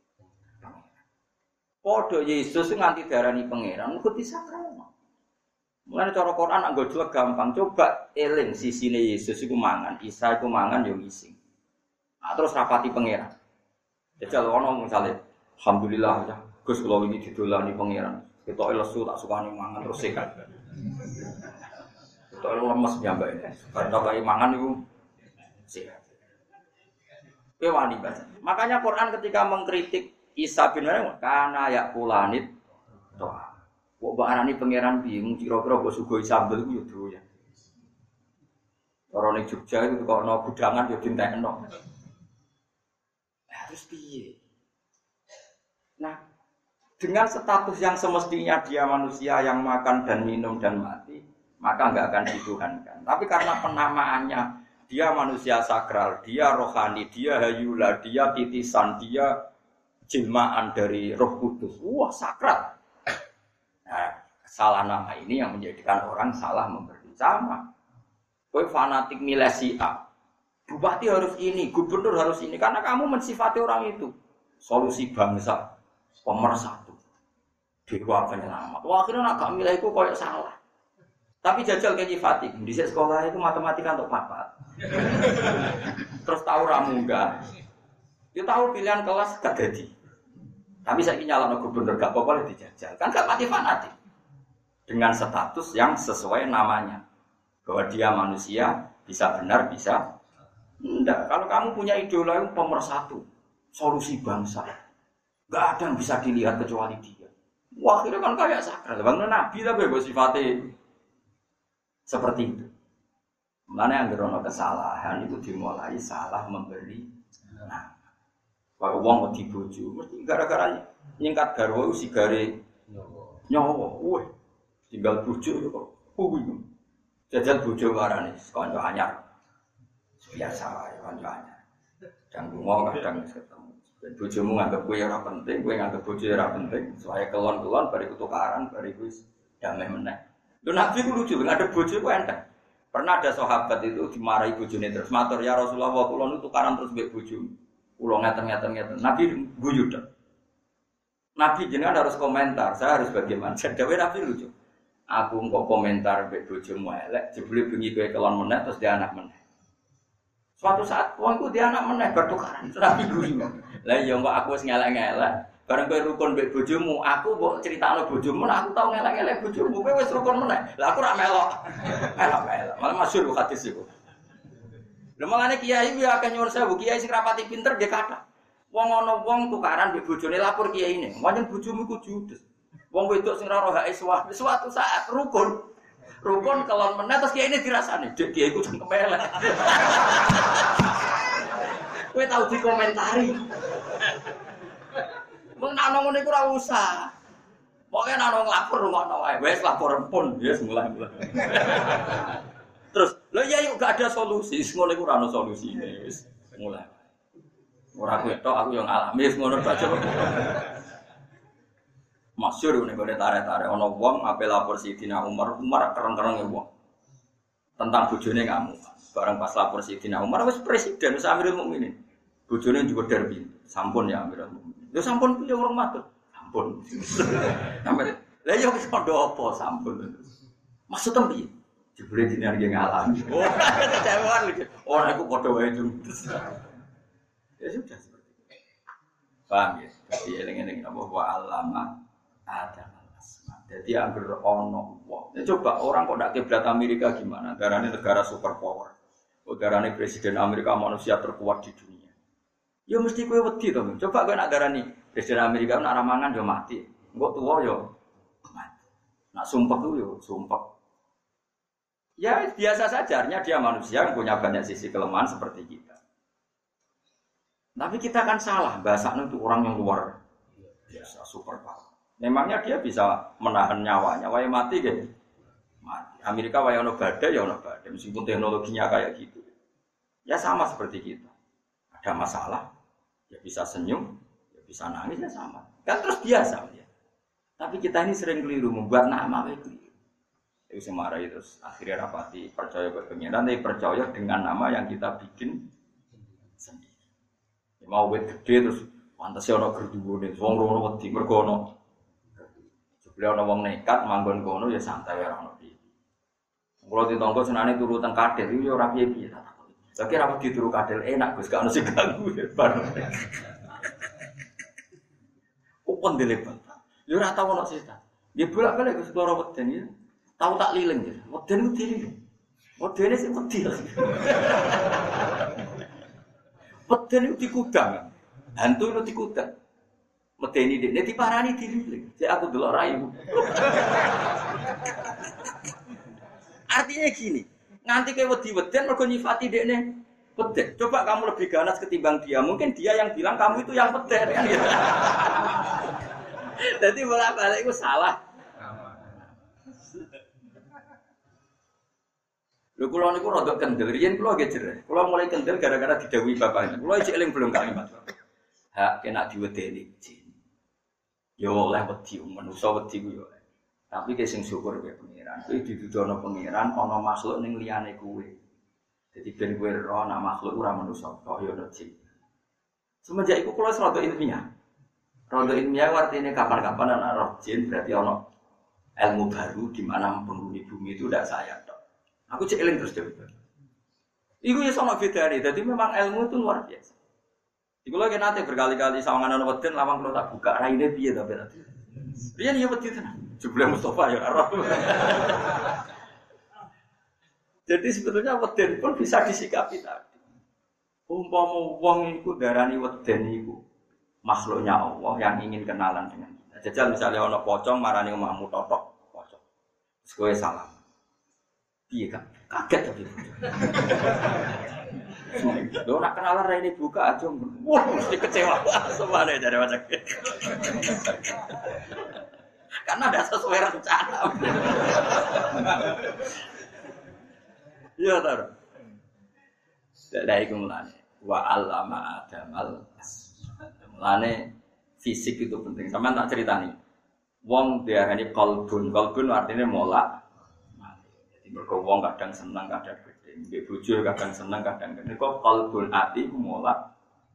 B: Podo Yesus nganti darani pangeran mergo disakralno. Mulane cara Quran anggo jelek gampang. Coba eling sisine Yesus iku mangan, Isa iku mangan yo ngising. Nah, terus rapati pangeran. Jajal ono misale alhamdulillah ya Gus kula wingi didolani pangeran. Ketoke lesu tak sukani mangan terus sehat. Ketoke lemes nyambake. Karena kaya mangan iku sehat. Kewani baca. Makanya Quran ketika mengkritik Isa bin Maryam kana yakulanit toa. Kok mbok arani pangeran bingung kira-kira mbok sugoi sambel ku yo doyan. Ora ning Jogja itu kok ana gudangan yo dintekno. Nah, terus piye? Nah, dengan status yang semestinya dia manusia yang makan dan minum dan mati, maka enggak akan dituhankan. Tapi karena penamaannya dia manusia sakral, dia rohani, dia hayula, dia titisan, dia jelmaan dari Roh Kudus. Wah, sakral. Nah, salah nama ini yang menjadikan orang salah memberi sama. Kowe fanatik milih si A. Bupati harus ini, gubernur harus ini karena kamu mensifati orang itu. Solusi bangsa, pemersatu. Dewa penyelamat. Wah, akhirnya nak gak milih itu koyo salah. Tapi jajal kayak nyifati, di sekolah itu matematika untuk papat. Terus tahu ramu enggak? Dia tahu pilihan kelas gak jadi. Tapi saya ingin nyalon gubernur gak apa-apa dijajal. Kan gak mati fanatik. Dengan status yang sesuai namanya. Bahwa dia manusia, bisa benar, bisa enggak. Kalau kamu punya idola yang pemersatu, solusi bangsa, gak ada yang bisa dilihat kecuali dia. Wah, akhirnya kan kayak sakral. Bang Nabi lah bebas sifatnya seperti itu. Mana yang gerono kesalahan itu dimulai salah memberi. Nah, kalau uang wedi bojo, mesti gara-gara nyingkat garwa sigare nyawa. Wah, tinggal bojo kok. Kuwi. Jajal bojo warane kanca anyar. Biasa wae kanca anyar. Jangan ngomong kadang ketemu. Ben bojomu nganggep kowe ora penting, kowe nganggep bojo ora penting, soalnya kelon-kelon bariku tukaran, bariku wis damai meneh. Lho Nabi ku lucu, ngadep bojo ku enteng. Pernah ada sahabat itu dimarahi bojone terus matur, "Ya Rasulullah, kula nu tukaran terus mbek bojomu." Kula ngeten-ngeten-ngeten. Nabi guyu tok. Nabi jenengan harus komentar, saya harus bagaimana? Dewe Nabi lucu. Aku engko komentar mbek bojomu elek, jebule bengi kowe kelon meneh terus dia anak meneh. Suatu saat wong iku dia anak meneh bertukaran. Nabi guyu. Lah iya kok aku wis ngelek-ngelek, bareng kowe rukun mbek bojomu, aku mbok critakno bojomu, aku tau ngelek-ngelek bojomu, kowe wis rukun meneh. Lah aku ora melok. Melok-melok. Malah masyhur hadis iku. Lha mangane kiai kuwi akeh nyuwun sewu, kiai sing rapati pinter nggih kathah. Wong ana wong tukaran mbek bojone lapor kiyaine, "Wancen bojomu iku judes." Wong wedok sing ora ora hake suatu saat rukun. Rukun kelon meneh terus kiyaine dirasani, "Dek kiai ku jeng kemelek." Kowe tau dikomentari. Wong nek ana ngene iku ora usah. Pokoke nek ana nglapor ngono wae. Wis lapor pun, wis mulai-mulai. Terus, lho ya yuk gak ada solusi, ngono iku ora ana solusine, wis mulai. Ora ketok aku yo ngalami wis ngono aja. Masyhur nek gone tarik-tarik ana wong ape lapor Sidina Umar, Umar kereng-kerenge wong. Tentang bojone kamu. Bareng pas lapor Sidina Umar wis presiden, wis Amirul Mukminin. Bojone juga derbi. Sampun ya Amirul Mukminin. Ya sampun piye urung matur. Sampun. Sampe lha yo wis padha apa sampun. Maksud piye? Jebule dene arep ngalami. Oh, kecewaan lho. Ora iku padha wae jung. Ya sudah seperti itu. Paham ya? Jadi eling-eling apa wa alama Adam al-asma. Jadi angger ono wong. Ya coba orang kok ndak kiblat Amerika gimana? Negarane negara superpower. Negarane presiden Amerika manusia terkuat di dunia. Ya mesti kowe wedi to. Coba kowe nak darani presiden Amerika nak ramangan yo mati. Engko tuwa yo mati. Nak sumpah tuh yo sumpah. Ya biasa saja, artinya dia manusia yang punya banyak sisi kelemahan seperti kita. Tapi kita kan salah, bahasanya itu orang yang luar biasa, super power. Memangnya dia bisa menahan nyawanya, waya mati kan? Mati. Amerika waya ono badai, ya ono badai, meskipun teknologinya kayak gitu. Ya sama seperti kita. Ada masalah, ya bisa senyum, ya bisa nangis, ya sama. Kan terus biasa ya. Tapi kita ini sering keliru, membuat nama itu. Itu semarahi terus akhirnya rapati percaya ke pengiran, tapi percaya dengan nama yang kita bikin sendiri. Ya, mau wet gede terus pantasnya ono gerduwone, wong rono wedi mergo ono. Sebelum ono wong nekat manggon kono ya santai ora ono piye. Kulo ditonggo senane turu teng kadel yo ora piye-piye ta takon. Lagi ra wedi turu kadel enak Gus, gak ono sing ganggu ya bar. Upon delepan. Yo ora tau ono setan. Dia bolak-balik Gus ora weden ya. Tahu tak lilin ya, weden itu lilin, weden itu sih wedi lah. Weden itu dikudang, hantu itu dikudang. Weden ini dia diparani dililing, jadi aku dulu rayu. Artinya gini, nganti kayak wedi weden mergo nyifati dekne weden. Coba kamu lebih ganas ketimbang dia, mungkin dia yang bilang kamu itu yang weden kan gitu. Jadi bolak-balik itu salah. Lho kula niku rada kendel, riyen kula nggih jereh. Kula mulai kendel gara-gara didhawuhi bapaknya. Kula iki eling belum kalimat. hak kena diwedeni jin. Yo oleh wedi manusa wedi ku yo. Tapi ki sing syukur ke pangeran. Kuwi didudono pangeran ana makhluk ning liyane kuwe. Jadi ben kowe ora ana makhluk ora manusa, kok yo ono jin. Semenjak iku kula rada ilmiah. Rada ilmiah artinya kapan-kapan ana roh jin berarti ono ilmu baru di mana penghuni bumi itu tidak saya tok. Aku cek eling terus dhewe. Iku ya sama bedane. Dadi memang ilmu itu luar biasa. Iku lagi nanti berkali-kali sawangan ana weden lawang kula tak buka raine piye to berarti. Riyen ya wedi tenan. Jebule Mustofa ya ora. Jadi sebetulnya weden pun bisa disikapi tadi. Umpama wong iku darani weden iku makhluknya Allah yang ingin kenalan dengan kita. Jajal misalnya ana pocong marani omahmu totok pocong. Terus kowe salam. Piye kan? Kaget tapi. Lho nak kenalan rene buka aja. Wah, mesti kecewa semane dari macam. Karena ada sesuai rencana. Iya tar. Dari iku mulane wa allama adamal mulane fisik itu penting. Sampeyan tak ceritani. Wong diarani qalbun. Qalbun artinya molak. Jadi mergo wong kadang seneng, kadang gede. Mbek bojo kadang seneng, kadang gede. Kok qalbun ati ku molak.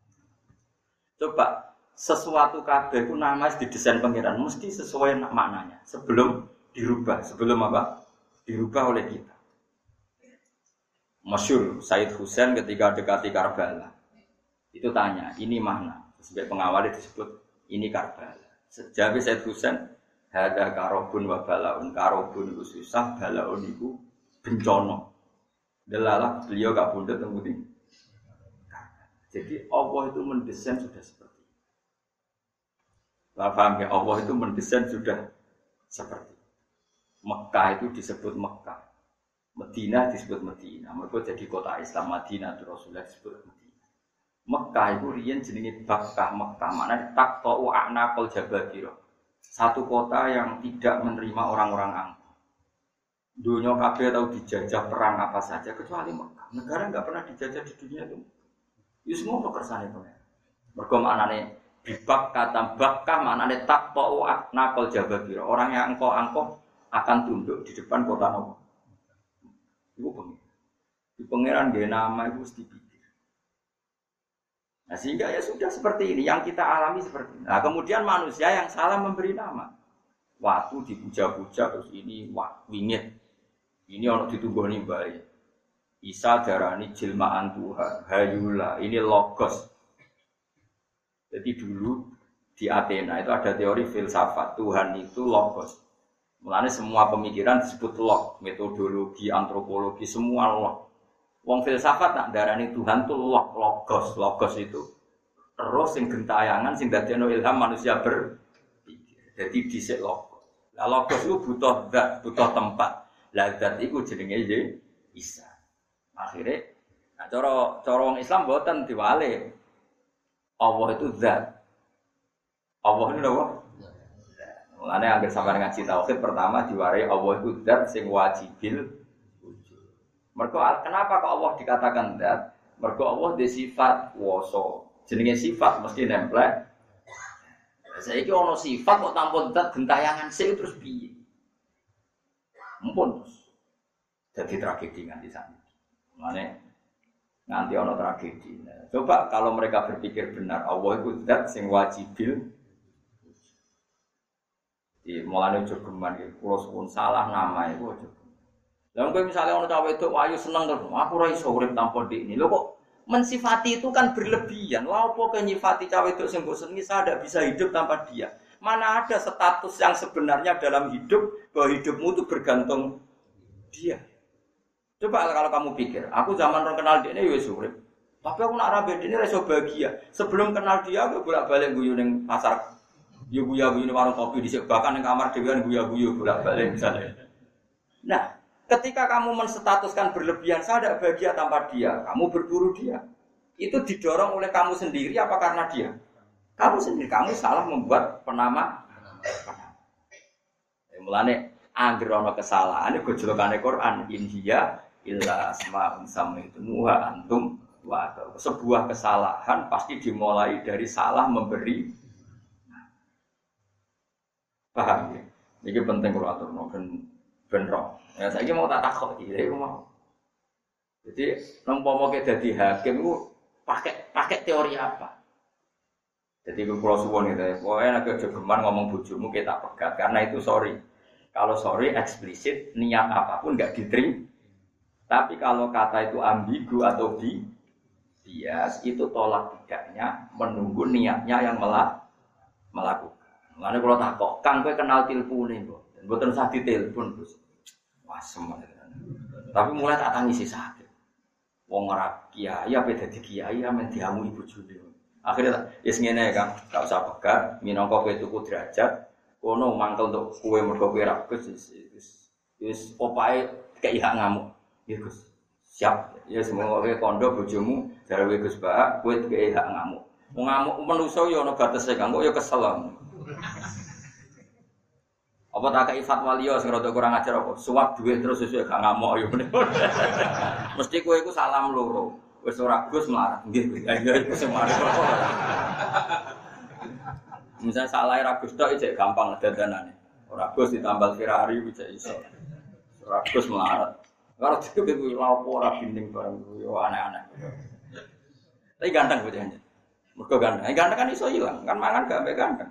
B: Coba sesuatu kabeh ku nama didesain pangeran mesti sesuai maknanya. Sebelum dirubah, sebelum apa? Dirubah oleh kita. Masyhur Said Husain ketika dekati Karbala. Itu tanya, ini mana? Sebagai pengawal disebut ini Karbala. Sejauh Said Husain, hada karobun wa balaun. Karobun itu susah, balaun itu bencana. Delalah beliau gak bunda temudi. Jadi Allah itu mendesain sudah seperti itu. Paham ya? Allah itu mendesain sudah seperti itu. Mekah itu disebut Mekah. Madinah disebut Madinah. Mereka jadi kota Islam. Madinah itu Rasulullah disebut Madinah. Mekah itu riyen jenenge Bakkah Mekah. Maknanya taqta'u a'naqal jababira. Satu kota yang tidak menerima orang-orang angkuh. Dunia kabeh tahu dijajah perang apa saja kecuali Mekah. Negara enggak pernah dijajah di dunia itu. Itu semua kersane pengen. Mergo maknane bibak kata Bakkah maknane taqta'u a'naqal jababira. Orang yang angkuh-angkuh akan tunduk di depan kota Nabi. Itu pengen. Di pangeran dia nama itu mesti pikir. Nah sehingga ya sudah seperti ini yang kita alami seperti ini. Nah kemudian manusia yang salah memberi nama. Waktu dipuja-puja terus ini wah wingit. Ini orang ditunggoni bayi. Isa darani jilmaan Tuhan. Hayula ini logos. Jadi dulu di Athena itu ada teori filsafat Tuhan itu logos. Mulane semua pemikiran disebut log, metodologi, antropologi semua log. Wong filsafat nak darani Tuhan tuh log, logos, logos itu. Terus sing gentayangan sing dadekno ilham manusia berpikir. Jadi dhisik logos. Lah logos itu butuh zat, butuh tempat. Lah zat iku jenenge Isa. Akhire nah cara cara wong Islam mboten diwale. Allah itu zat. Allah itu apa? Mulane anggere sampeyan ngaji tauhid pertama diwarai Allah itu zat sing wajibil wujud. Mergo kenapa kok Allah dikatakan zat? Mergo Allah di sifat wasa. Jenenge sifat mesti nempel. Saiki ana sifat kok tanpa zat gentayangan sik terus piye? Mumpun terus. Jadi tragedi nganti sana. Mulane nanti ana tragedi. Coba kalau mereka berpikir benar Allah itu zat sing wajibil di mulane ojo geman iki kula suwun salah nama iku ojo. Lah kowe misale ana cah wedok ayu seneng terus aku ora iso urip tanpa ndikne. Lho kok mensifati itu kan berlebihan. Lha opo kok nyifati cah wedok sing mbok senengi saya tidak bisa hidup tanpa dia? Mana ada status yang sebenarnya dalam hidup bahwa hidupmu itu bergantung dia. Coba kalau kamu pikir, aku zaman orang kenal ndikne ya wis urip. Tapi aku nak ra ndikne ora iso bahagia. Sebelum kenal dia aku bolak-balik guyu ning pasar. Yo guyu-guyu ning warung kopi dhisik bahkan ning kamar dhewean guyu-guyu bolak-balik misalnya. Nah, ketika kamu menstatuskan berlebihan saya tidak bahagia tanpa dia, kamu berburu dia. Itu didorong oleh kamu sendiri apa karena dia? Kamu sendiri, kamu salah membuat penama. Ya, mulane anggere ana kesalahan gojolokane Quran India illa asma'un samaitumuha antum wa wa sebuah kesalahan pasti dimulai dari salah memberi. Paham ya? Ini penting kalau aturno ben ben roh. Ya saiki mau tak takok iki, iku mau. Jadi umpama ke dadi hakim iku pakai pakai teori apa? Jadi kalau suwon gitu ya, pokoknya nak aja gemar ngomong bojomu kita pegat karena itu sorry. Kalau sorry eksplisit niat apapun nggak diterima. Tapi kalau kata itu ambigu atau bi bias itu tolak tidaknya menunggu niatnya yang melak melakukan. Makanya kalau tak kok, kang gue kenal telepon ini kok, dan bukan usah ditelepon terus, wah semuanya. Tapi mulai tak tangisi sakit. Wong ora kiai, apa dadi kiai, amen diamu ibu juli. Akhirnya, yes ngene kan, gak usah pegat, minangka kowe tuku derajat, kono mangkel untuk kowe mergo kowe ra Gus, wis wis opae kei hak ngamuk. Ya Gus, siap. Ya semoga kowe kondo bojomu jare kowe Gus Pak, kowe kei hak ngamuk. Wong ngamuk manusa ya ana batese kang, kok ya kesel. Apa tak kei fatwa liya sing rada kurang ajar apa? Suwak duit terus sesuk gak ngamuk ya. Mesti kowe iku salam loro. Wis ora Gus melarat. Nggih Gus. Ya iku sing mari. Misal salah ra Gus tok iki gampang dandanane. Ora Gus ditambal Ferrari bisa iso. Ora Gus melarat. Karo diku kuwi lapo ora binding bareng yo aneh-aneh. Tapi ganteng bocahnya. Mergo ganteng. Ganteng kan iso ilang, kan mangan gak ambek ganteng.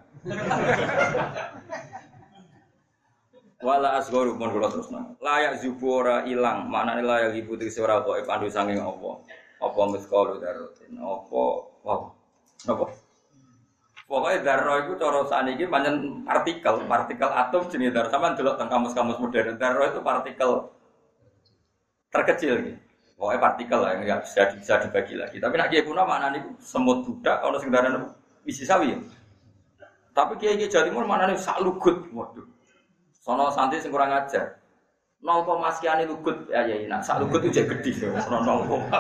B: Wala asgharu mun kula terusna. Layak zubura ilang, maknane layak ibu tegese ora kok pandu saking apa. Apa miskalu darotin, apa apa. Apa? Pokoke darah iku cara saniki pancen partikel, partikel atom jenenge darah. Sampeyan delok teng kamus-kamus modern, darah itu partikel terkecil iki. Pokoke partikel lah yang bisa bisa dibagi lagi. Tapi nek kiye kuna maknane iku semut budak ana sing darane isi sawi. Tapi kiye-kiye Jawa Timur maknane sak lugut. Waduh. Sono santri sing kurang ajar. nol koma sekian lugut ya ya nak sak lugut itu gede ono nol koma.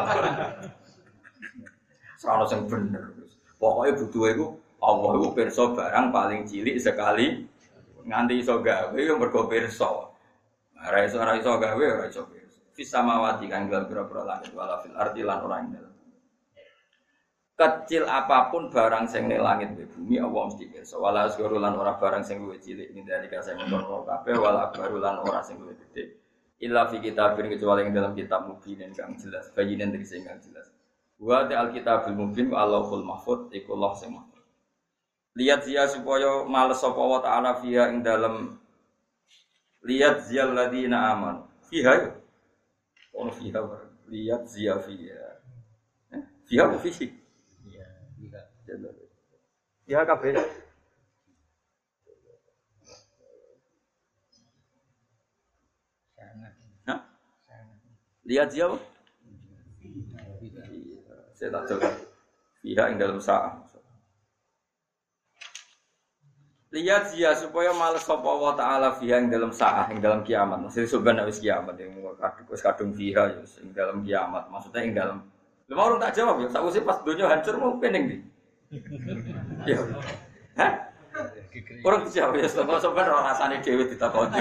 B: Sono sing bener. Pokoke butuhe iku Allah iku pirsa barang paling cilik sekali nganti iso gawe yo mergo pirsa. Ora iso ora iso gawe ora iso pirsa. Fis samawati kang dalam pira-pira langit wala fil ardi lan ora ing dalem. Kecil apapun barang sing ning langit di bumi Allah mesti pirsa. Wala asgharu lan ora barang sing luwih cilik ning dari kasih mengkono kabeh wala akbaru lan ora sing luwih gedhe. Illa fi kitabin kecuali ing dalam kitab mubin kang jelas, bayinen tegese kang jelas. Wa ta alkitabul mubin wa Allahul mahfuz iku Allah sing mahfuz. Lihat zia supaya males sapa wa ta'ala fiha ing dalam lihat ziyal ladina aman. Fiha ono fiha lihat zia fiha. Eh, fiha apa fihi? Iya, fiha. Ya kabeh. Hah? Lihat zia apa? Saya tak coba. Fiha ing dalam sa'ah. Lihat dia supaya males sapa wa ta'ala fiha ing dalam saah ing dalam kiamat. Maksudnya sebenarnya wis kiamat yang wis kadung fiha ya ing dalam kiamat. Maksudnya ing dalam. Lha mau tak jawab ya, sakwise pas donya hancur mau pening ndi? Ya. Hah? Orang dijawab ya sebab-sebab rasane dhewe ditakoni.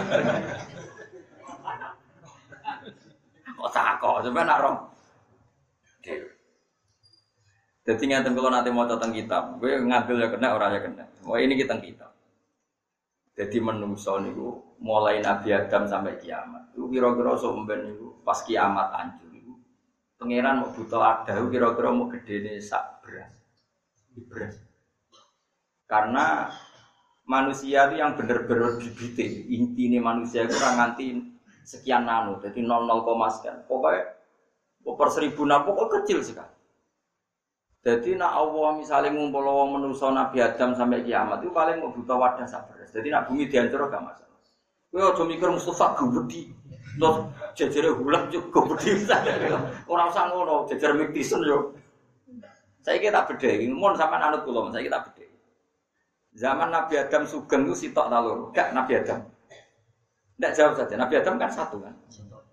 B: Kok takok sampeyan nak rom. Dhewe. Dadi ngaten kula nate maca teng kitab, kowe ngambil ya kena ora ya kena. Oh ini kita kitab. Jadi menungso niku mulai Nabi Adam sampai kiamat. Itu kira-kira somben niku pas kiamat hancur niku. Pangeran mau buta ada kira-kira mau gedene sak beras. Beras. Karena manusia itu yang benar-benar bibite, intine manusia itu ora nganti sekian nano, jadi nol nol sekian. Pokoknya per seribu nano pokoknya kecil sekali. Jadi nak Allah misalnya ngumpul wong manusa Nabi Adam sampai kiamat itu paling mau buta wadah sak beras. Jadi nak bumi dihancur gak masalah. Kowe aja mikir Mustafa gede. Terus jejere hulam juga gede. Ora usah ngono, jejer miktisen yo. Saiki tak bedheki, mun sampean anut kula, saiki tak bedheki. Zaman Nabi Adam sugeng itu sitok ta loro? Gak Nabi Adam. Ndak jawab saja. Nabi Adam kan satu kan.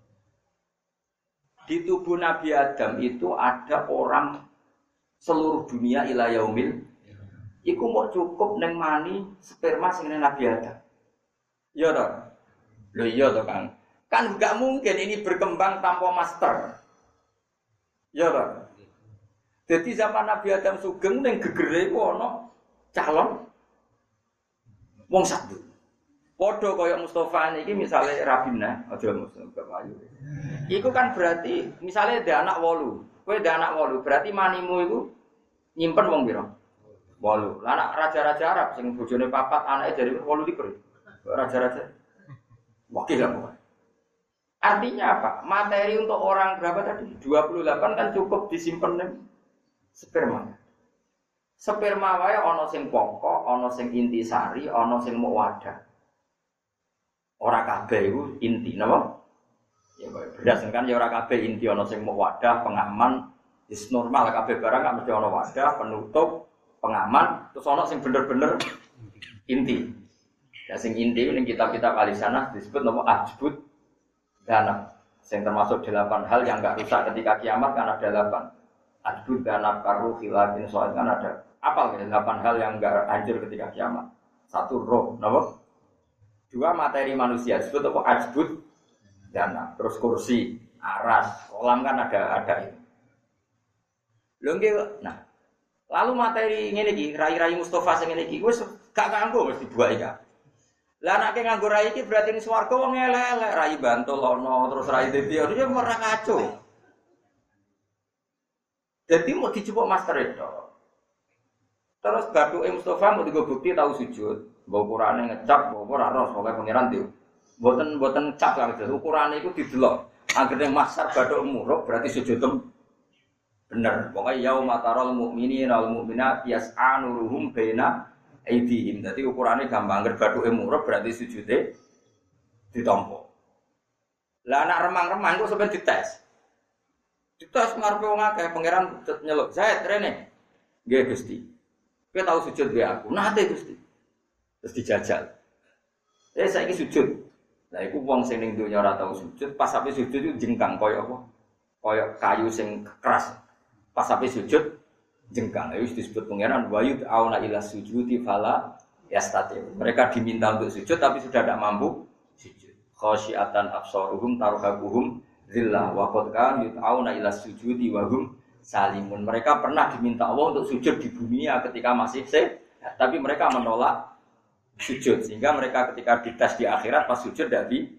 B: Di tubuh Nabi Adam itu ada orang seluruh dunia ila yaumil iku mau cukup neng mani sperma sing Nabi Adam. Iya toh? Lho iya toh Kang. Kan enggak mungkin ini berkembang tanpa master. Iya toh? Jadi zaman Nabi Adam sugeng ning gegere ku ana calon wong satu. Padha kaya Mustofa niki misale Rabina, aja Mustofa Ayu. Iku kan berarti misale ada anak wolu. Kowe ada anak wolu, berarti manimu iku nyimpen wong pira? wolu. Lah anak raja-raja Arab sing bojone papat anake dari wolu likur. Raja-raja. Wakil apa? Artinya apa? Materi untuk orang berapa tadi? dua puluh delapan kan cukup disimpen ning sperma. Sperma wae ana sing pokok, ana sing intisari, ana sing muk wadah. Ora kabeh iku inti napa? Ya berdasarkan ya ora kabeh inti ana sing muk wadah, pengaman, is normal kabeh barang gak mesti ana wadah, penutup, pengaman, terus ana sing bener-bener inti. Ya sing inti ning kitab-kitab alisana disebut napa ajbud danab. Sing termasuk delapan hal yang enggak rusak ketika kiamat kan ada delapan. Ajbud danab karu khilafin soal kan ada. Apal ya delapan hal yang enggak hancur ketika kiamat. Satu roh, napa? Dua materi manusia disebut apa ajbud danab. Terus kursi, aras, kolam kan ada ada itu. Lho nggih, nah. Lalu materi ngene iki, rai-rai Mustofa sing ngene iki wis gak kanggo mesti dibuat iki. Lah anake nganggo rai iki berarti ning swarga wong elek-elek, rai bantul ana terus rai dadi ya ora kacau. Dadi mau dijupuk master itu. Terus bathuke Mustofa mau digo bukti tahu sujud, mbok ukurane ngecap, mbok ora ros pokoke pangeran ndi. Mboten mboten ngecap kan itu, ukurane iku didelok. Anggere masar bathuk muruk berarti sujudem bener. Pokoke yauma taral mukminina wal mukminat yas'a nuruhum baina aidihim. Dadi ukurane gampang anggere bathuke muruk berarti sujude ditampa. Lah anak remang-remang kok sampe dites. Dites ngarepe wong akeh pangeran nyeluk, "Zaid rene." Nggih Gusti. Kowe tau sujud wae aku. Nate Gusti. Terus dijajal. Eh saiki sujud. Lah iku wong sing ning donya ora tau sujud, pas sampe sujud iku jengkang kaya apa? Kaya kayu sing keras. Pas sampe sujud jengkang. Itu disebut pangeran wayud auna ila sujudi fala yastati. Mereka diminta untuk sujud tapi sudah tidak mampu sujud. Khasyiatan absaruhum tarhaquhum zillah wa qad kan yud'auna ila sujudi wa hum salimun. Mereka pernah diminta Allah untuk sujud di dunia ketika masih sehat, tapi mereka menolak sujud sehingga mereka ketika dites di akhirat pas sujud tidak di.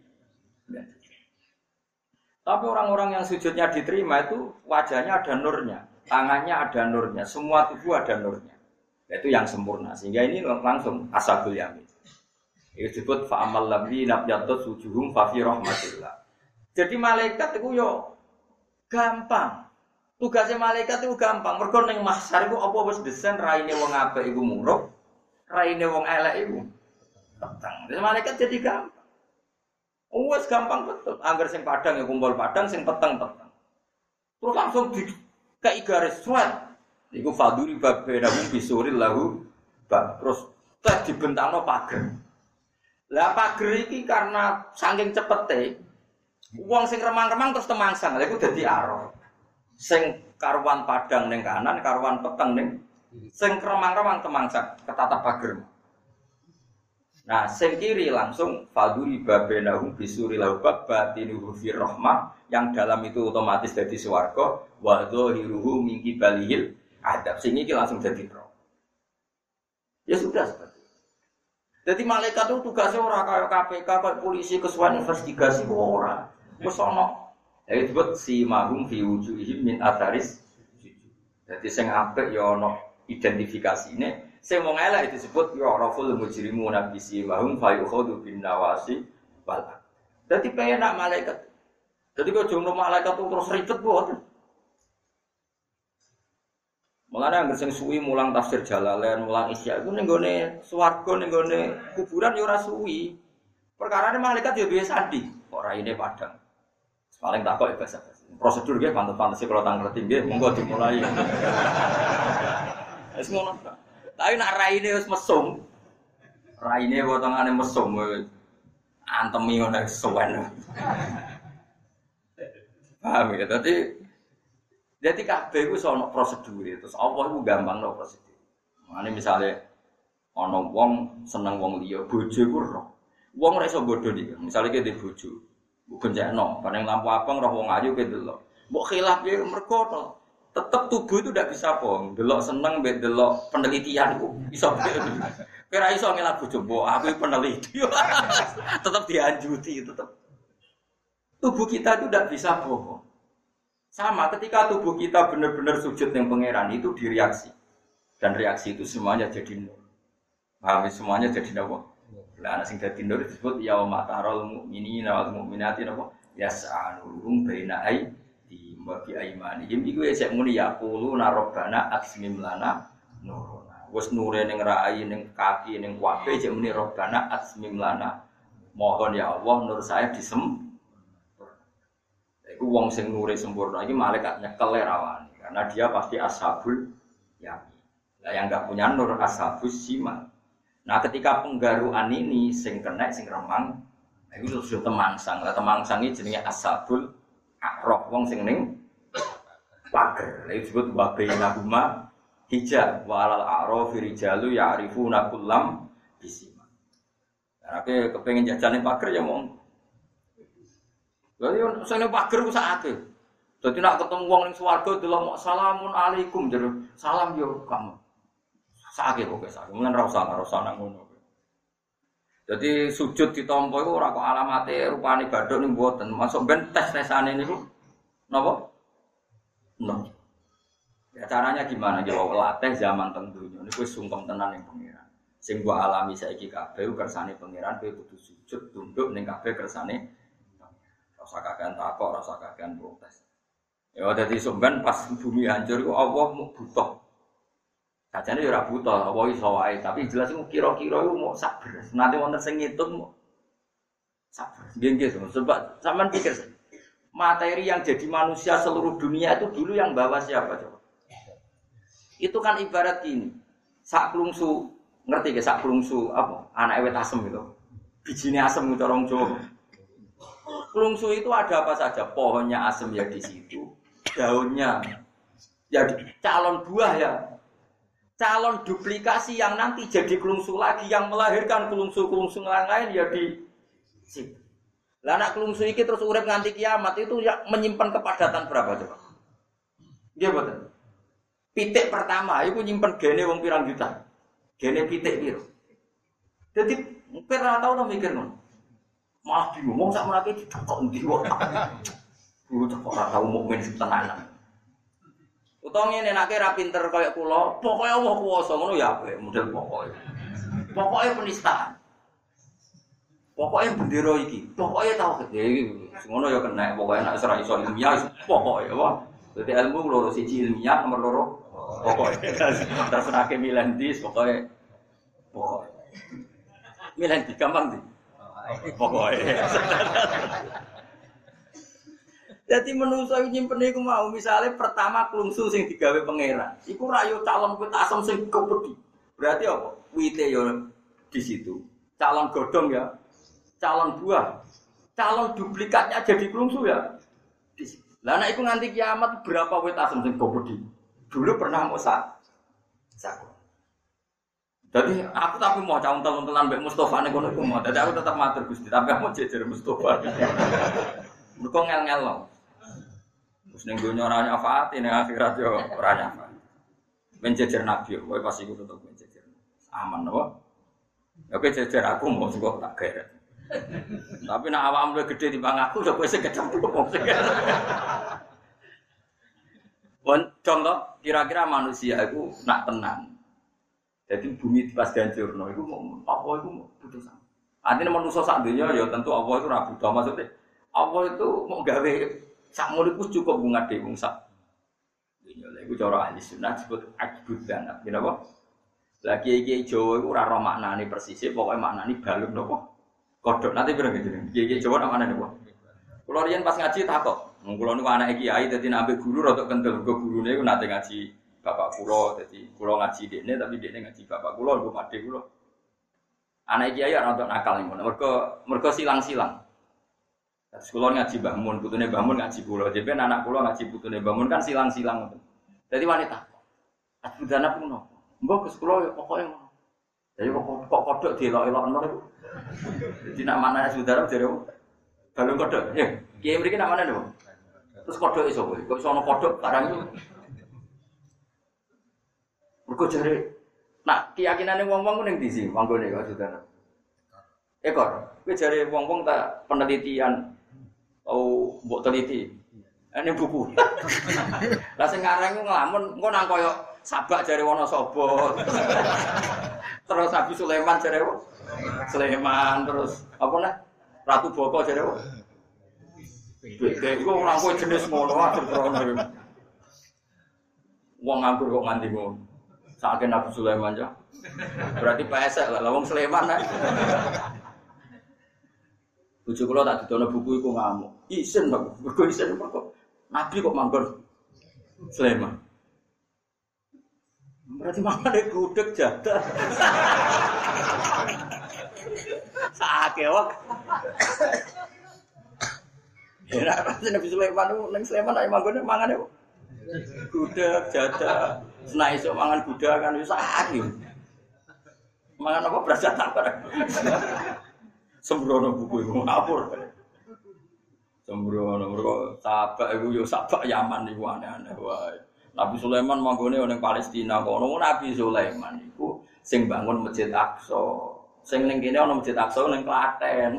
B: Tapi orang-orang yang sujudnya diterima itu wajahnya ada nurnya, tangannya ada nurnya, semua tubuh ada nurnya. Itu yang sempurna. Sehingga ini langsung ashabul yamin. Itu disebut fa'amal ladzina yatut sujuhum fa fi rahmatillah. Jadi malaikat itu yo gampang. Tugasnya malaikat itu gampang. Mergo ning mahsyar iku apa wis desain raine wong apik iku muruk, raine wong elek iku peteng. Jadi malaikat jadi gampang. Wes gampang betul. Angger sing padang ya kumpul padang, sing peteng-peteng. Terus langsung di kayak garis suat. Iku faduri babena bisuril lahu. Terus tak dibentangno pager. Lah pager iki karena saking cepete, wong sing remang-remang terus temangsang. Lha iku dadi aro. Sing karuan padang ning kanan, karuan peteng ning sing remang-remang temangsang ketatap pager. Nah, sing kiri langsung faduri babenahum bisuri laubab batinuhu fir rahmah yang dalam itu otomatis jadi swarga wa dhahiruhu min qibalihil adab. Sing iki langsung jadi neraka. Ya sudah seperti itu. Jadi malaikat itu tugasnya ora kaya K P K, kaya polisi kesuwen investigasi ora. Wis ana. Ya disebut si mahum fi wujuhihim min atharis. Jadi sing apik ya ana identifikasine. Sing wong elek disebut ya raful mujrimun nabisi mahum fa yukhadu bin nawasi wal. Dadi penak malaikat. Dadi kok jono malaikat terus ribet boten. Mulane anggere sing suwi mulang tafsir Jalalain, mulang Isya iku ning gone swarga ning gone kuburan ya ora suwi. Perkarane malaikat ya duwe sandi, kok raine padang. Paling tak kok bahasa. Prosedur nggih pantes-pantes kula tang ngerti nggih, monggo dimulai. Wis ngono. Tapi nak raine wis mesum. Raine potongane mesum antemi ngono suwen. Paham ya? Dadi dadi kabeh iku ono prosedur. Terus Allah iku gampang no prosedur. Mane misale ana wong seneng wong liya, bojo iku roh. Wong ora iso bodho iki. Misale ki ndek bojo, mbok gencekno, bareng lampu abang roh wong ayu ki delok. Mbok khilaf ya mergo Tetap tubuh itu tidak bisa bohong. Delok seneng, delok penelitian itu bisa. Kira iso ngelak bojo, aku peneliti. Tetap dianjuti, tetap. Tubuh kita itu tidak bisa bohong. Sama ketika tubuh kita benar-benar sujud yang pangeran itu direaksi. Dan reaksi itu semuanya jadi nur. Paham semuanya jadi apa? Lah ana sing dadi nur disebut yauma taral mukminina wal mukminati napa? Yas'anuhum baina aydihim wa bi aymanihim. Iku esek muni yaqulu rabbana atsmim lana nuruna. Wes nure ning rai ning kaki ning kabeh esek muni rabbana atsmim lana. Mohon ya Allah nur saya disem. Iku wong sing nure sempurna iki malaikat nyekel rawani karena dia pasti ashabul yamin. Lah yang enggak punya nur ashabus simal. Nah, ketika penggaruan ini sing kena sing remang, itu sudah temangsang. Lah temangsang iki jenenge ashabul a'raf wong sing ning pager. Lha disebut wa bainahuma hijab wa alal a'rafi rijalu ya'rifuna kullam bisima. Nah, nek kepengin jajane pager ya mong lha yo sing pager ku sakake. Dadi nek ketemu wong ning swarga delok mok salamun alaikum jero salam yo kamu. Sakake kok sakake. Mun ora usah ora usah nang ngono. Dadi sujud ditampa iku ora kok alamate rupane bathuk ning mboten. Masuk ben tes-tesane niku napa? No. Ya caranya gimana? Ya latih zaman teng donya niku wis sungkem tenan ning pangeran. Sing gua alami saiki kabeh kersane pangeran kowe kudu sujud tunduk ning kabeh kersane rasa kakean takok, rasa kakean protes. Ya dadi sampean pas bumi hancur iku Allah mau butuh. Sajane ya ora butuh, apa iso wae, tapi jelas iku kira-kira iku mau sabar. Nanti wonten sing ngitung mau sabar. Nggih-nggih, sebab sampean pikir materi yang jadi manusia seluruh dunia itu dulu yang bawa siapa coba? Itu kan ibarat gini. Sak klungsu, ngerti ge sak klungsu apa? Anake wit asem gitu. Bijine asem cara wong Jawa. Klungsu itu ada apa saja, pohonnya asem ya di situ, daunnya ya di, calon buah ya, calon duplikasi yang nanti jadi klungsu lagi yang melahirkan klungsu-klungsu lain ya di situ. Lah anak klungsu iki terus urip nganti kiamat itu ya menyimpan kepadatan berapa coba? Nggih mboten. Pitik pertama iku nyimpen gene wong pirang juta. Gene pitik piro? Dadi ora tau to mikir ngono. Malah diomong sak menake dicokok ndi wae. Kuwi kok ora tau mukmin sing tenanan. Utawa ngene nek ra pinter kaya kula, pokoke Allah kuwasa ngono ya apik, model pokoke. Pokoke penistaan. Pokoke bendera iki, pokoke tau gede iki. Ngono ya kena, pokoke nek ora iso ilmiah pokoke apa. Dadi ilmu loro siji ilmiah, nomor loro pokoke. Terserake milih ndi pokoke pokoke. Milih di gampang ndi? Pokoknya. Jadi menungso nyimpen iku mau misalnya pertama klungsu sing digawe pangeran. Iku rayo calon wit asem sing kepedi. Berarti apa? Wite yo di situ. Calon godhong ya. Calon buah. Calon duplikatnya jadi klungsu ya. Di situ. Lah nek iku nganti kiamat berapa wit asem sing kepedi? Dulu pernah mosak. Sak. Jadi aku tapi mau cauntel-untelan mbek Mustofa nek ngono iku mau. Dadi aku tetap matur Gusti, tapi aku jejer Mustofa. Mergo ngel-ngel lho. Terus ning donya ora nyafaati ning akhirat yo ora nyafaati. Men jejer nabi kowe pas iku tetep men jejer. Aman apa? Ya kowe jejer aku mau sing tak geret. Tapi nek awakmu luwih gedhe timbang aku yo kowe sing kecemplung. Pun contoh kira-kira manusia itu nak tenang. Jadi bumi pas dihancurno iku apa iku putusan. Artinya manusia sak dunya ya tentu Allah itu ra butuh maksudnya. Allah itu mau gawe sak muliku cukup ngade wong sak. Dunya lha iku cara ahli sunnah disebut ajbudan. Kenapa? Lagi iki Jawa iku ora ro maknane persis, pokoke maknane balung napa? Kodhok nanti pirang jenenge. Iki Jawa nak maknane apa? Kula riyen pas ngaji takok. Wong kula niku anake kiai dadi nek ambek guru rada kendel, go gurune iku nate ngaji bapak kula, jadi kula ngaji dekne tapi dekne ngaji bapak kula, nggo padhe kula. Anak kiai ora untuk nakal niku. Mergo mergo silang-silang. Terus kula ngaji Mbah Mun, putune Mbah Mun ngaji kula. Dhewe anak kula ngaji putune Mbah Mun kan silang-silang ngoten. Dadi wanita. Ajudana pun nopo. Mbok Gus kula pokoke ngono. Jadi kok kok kodhok dielok-elokno niku. Dadi nak manane saudara jare balung kodhok. Ya, kiai mriki nak manane niku. Terus kodhok iso kowe. Kok iso ana kodhok barang iku. Mergo jare nak keyakinane wong-wong ku ning ndi sih manggone kok Saudara. Ekor, kowe jare wong-wong tak penelitian tau mbok teliti. Ini buku. Lah sing ngarang ku nglamun engko nang koyo Sabak jare Wonosobo. Terus Nabi Sulaiman jare Sulaiman terus apa nah? Ratu Boko jare apa? Beda iku ora kowe jenis ngono atur krono. Wong nganggur kok nganti ngono. Sakake Nabi Sulaiman ya. Berarti pesek lah wong Sulaiman nah. Bojo kula tak didono buku iku ngamuk. Isin kok, mergo isin kok. Nabi kok manggon Sulaiman. Berarti mangane gudeg jadah. Sakake wak. Ya Nabi Sulaiman ning Sulaiman nek manggone mangane gudeg jadah. Senai iso mangan gudeg kan wis sakake. Mangan apa berasa tak sembrono buku iku ngapur. Sembrono mergo Sabak iku yo Sabak Yaman iku aneh-aneh wae. Nabi Sulaiman manggone ning Palestina kono. Nabi Sulaiman iku sing bangun Masjid Aqsa. Sing ning kene ana Masjid Aqsa ning Klaten.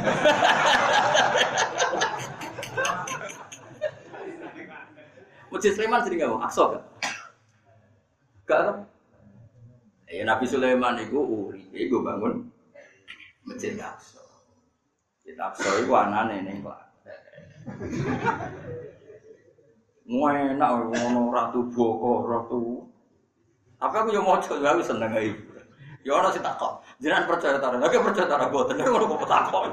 B: Masjid Sulaiman jenenge apa? Aqsa kan? Gak kan? Ya Nabi Sulaiman iku uripe iku bangun Masjid Aqsa. Masjid Aqsa iku anane ning Klaten. Enak ngono Ratu Boko, Ratu. Tapi aku yo mojo wae seneng ae. Ya ana sing takok, jenengan percaya ta? Lha kok percaya ta boten ngono kok takok.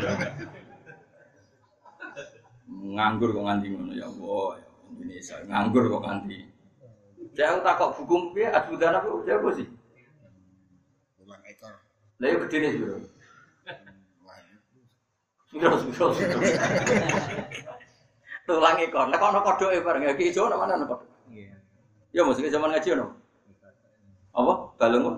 B: Nganggur kok nganti ngono ya Allah, Indonesia nganggur kok nganti. Saya takok buku piye adbudan apa ya apa sih?
C: Ulang ekor.
B: Lah yo gedene sih, Bro. Terus terus. Tulang ekor. Nek ana kodhoke bareng iki ijo nang mana kodhok? Iya. Ya mesti zaman ngaji ono. Apa? Balung.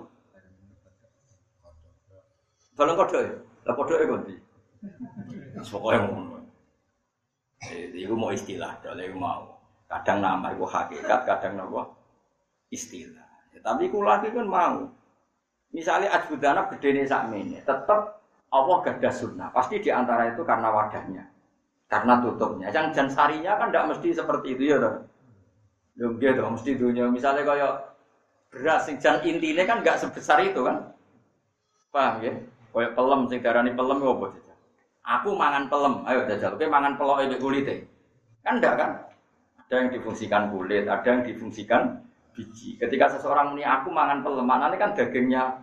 B: Balung kodhok ya. Lah kodhoke kok ndi? Pokoke ngono. Eh iku mau istilah, dole mau. Kadang nama iku hakikat, kadang napa? Istilah. Ya, tapi kula iki kan mau. Misalnya adbudana gedene sakmene, tetep Allah gadah sunnah. Pasti di antara itu karena wadahnya. Karena tutupnya. Yang jan sarinya kan tidak mesti seperti itu ya toh. Ya gitu, mesti dunia. Misalnya kayak beras sing jan intine kan enggak sebesar itu kan. Paham ya? Kayak pelem sing darani pelem ya apa jajal. Aku mangan pelem, ayo jajal. Kowe mangan peloke mek kulite. Kan enggak kan? Ada yang difungsikan kulit, ada yang difungsikan biji. Ketika seseorang muni aku mangan pelem, maknane kan dagingnya.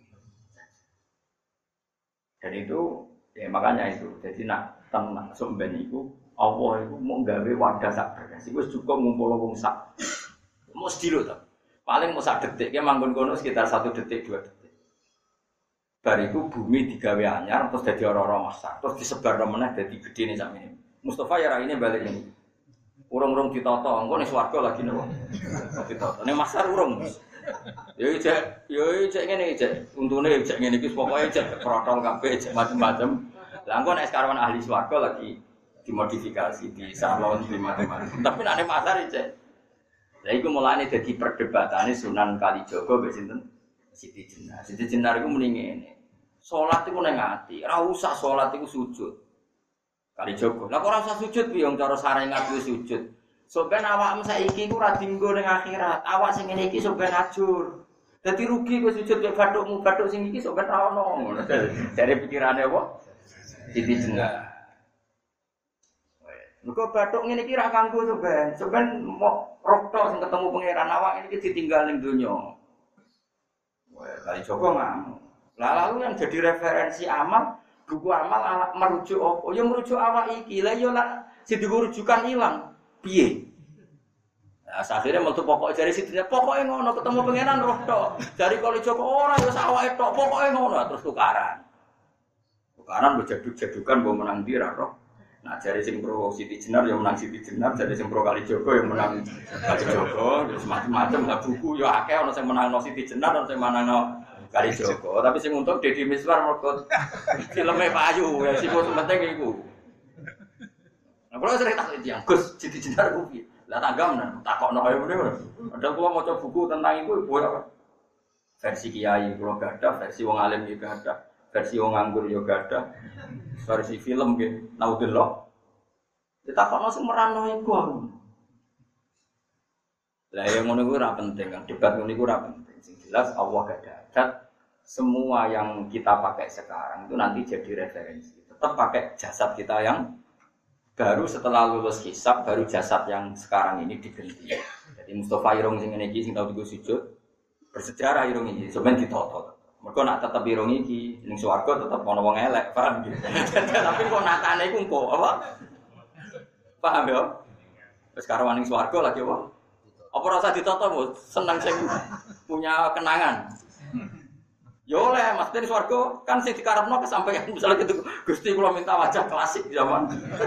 B: Dan itu ya makanya itu. Jadi nak tenang somben iku Allah iku mau gawe wadah sak beras iku cukup ngumpul wong sak mesti lho to paling mau sak detik ki manggon kono sekitar satu detik dua detik bariku bumi digawe anyar terus dadi ora-ora masak terus disebar meneh dadi gedene sakmene Mustafa ya raine balik ini urung-urung ditata engko ning swarga lagi nopo ditata ning masar urung yo cek yo cek ngene cek untune cek ngene iki pokoke cek protol kabeh cek macam-macam. Lah engko nek sekarang ahli swarga lagi dimodifikasi di salon di macam-macam. Tapi nek nek pasar cek. Lah iku mulane dadi perdebatane Sunan Kalijaga mbek sinten? Siti Jenar. Siti Jenar iku muni ngene. Salat iku ning ati, ora usah salat iku sujud. Kalijaga. Lah kok ora usah sujud piye wong cara sarengat kuwi sujud. Soben awakmu saiki iku ora dienggo ning akhirat. Awak sing ngene iki soben ajur. Dadi rugi kowe sujud mek bathukmu, bathuk sing iki soben ra ono. Jare pikirane apa? Siti Jenar. Mergo bathuk ngene iki ra kanggo soben. Soben mau roh tok sing ketemu pangeran awak ini iki ditinggal ning donya. Wah, kali Joko ngamuk. Lah lalu yang jadi referensi amal, buku amal ala, merujuk apa? Ya merujuk awak iki. Lah ya lah sing dirujukan ilang. Piye? Nah, akhirnya metu pokok jari Siti pokoke ngono ketemu pangeran roh tok. Jari kali Joko ora ya awake tok pokoke ngono terus tukaran. Tukaran berjaduk-jadukan mbok menang ndi ra roh. Nah jari sing pro Siti Jenar ya menang Siti Jenar, jari sing pro Kali Jogo ya menang Kali Jogo, terus macam-macam lah buku ya akeh ana sing menangno Siti Jenar, ana sing menangno Kali Jogo. Tapi sing untung Deddy Miswar mergo filme payu ya sing penting iku. Nah kalau sering tak yang Gus Siti Jenar ku piye? Lah tanggam nah, takokno ae ngene. Ada kula maca buku tentang iku ibu apa? Versi kiai kula gadah, versi wong alim iki gadah, versi wong nganggur yo gadah. Versi film nggih, naudzubillah. Ditakokno sing merano iku aku. Lah yang ngono iku ora penting kan, debat ngono iku ora penting. Sing jelas Allah gadah adat semua yang kita pakai sekarang itu nanti jadi referensi. Tetap pakai jasad kita yang baru setelah lulus hisab, baru jasad yang sekarang ini diganti. Jadi Mustafa Irung sing ngene iki sing tau digo sujud bersejarah Irung iki sampeyan ditoto. Mergo nak tetep Irung iki ning swarga tetep ana wong elek, paham gitu. Tapi kok nakane iku engko apa? Paham ya? Wis karo ning swarga lagi apa? Apa rasa ditoto, Bu? Seneng sing punya kenangan. Yo oleh Mas Den swarga kan sing dikarepno kesampaian misalnya gitu Gusti kula minta wajah klasik zaman.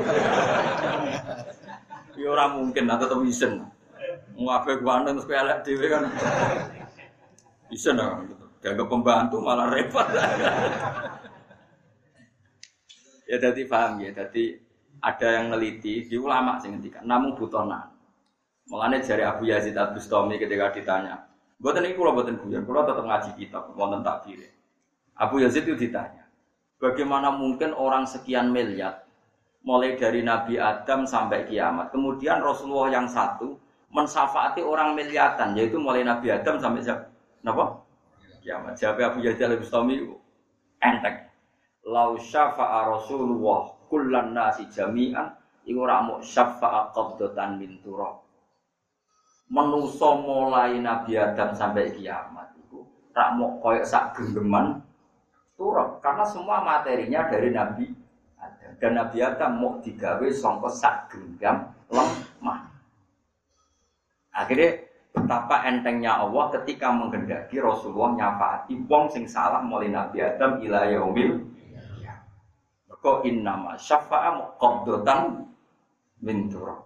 B: Yo ora mungkin atau tetep isen. Ngapain gua nang terus elek dhewe kan. Isen kan gitu. Dianggap pembantu malah repot. Ya jadi paham ya, jadi ada yang neliti di ulama sing ngendikan namung butuh nan. Mulane jare Abu Yazid Al-Bustami ketika ditanya Mboten iki kula mboten guyon, kula tetep ngaji kitab wonten takdir. Abu Yazid itu ditanya, bagaimana mungkin orang sekian miliar mulai dari Nabi Adam sampai kiamat, kemudian Rasulullah yang satu mensyafaati orang miliaran, yaitu mulai Nabi Adam sampai siapa? Napa? Kiamat. Jawab Abu Yazid Al-Bustami enteng. Lau syafa'a Rasulullah kullan nasi jami'an iku ora muk syafa'a qabdatan min turab. Menuso mulai Nabi Adam sampai kiamat itu rak mok koyok sak genggeman turap karena semua materinya dari Nabi Adam dan Nabi Adam mok digawe sangka sak genggam lemah. Akhirnya betapa entengnya Allah ketika menghendaki Rasulullah nyafaati wong sing salah mulai Nabi Adam ila yaumil qiyamah. Maka innama syafa'a muqaddatan min turab.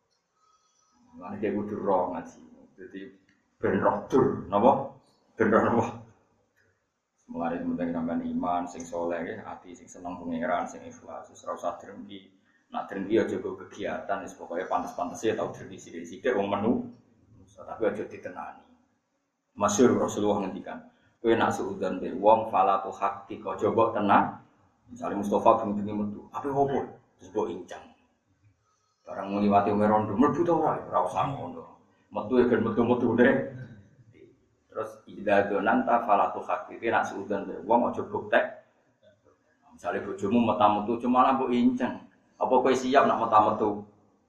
B: Lan iki kudu roh ngaji. Dadi ben roh dur, napa? Ben roh napa? Mulane penting sampean iman sing saleh nggih, ati sing seneng pangeran, sing ikhlas, wis ora usah drengki. Nak drengki aja go kegiatan, wis pokoke pantes-pantese tau drengki sithik-sithik wong menu. Tapi aja ditenani. Masyhur Rasulullah ngendikan, kowe nak suudzon be wong fala tu haqiqa coba tenan. Misale Mustafa bengi-bengi metu, ape opo? Terus mbok incang. Barang ngliwati merondo mlebu ta ora? Ora usah ngono. Metu ya ben metu-metu deh. Terus idza donanta falatu haqiqi nak suudzon be wong aja buktek. Misale bojomu meta-metu cuma lah mbok inceng. Apa kowe siap nak meta-metu?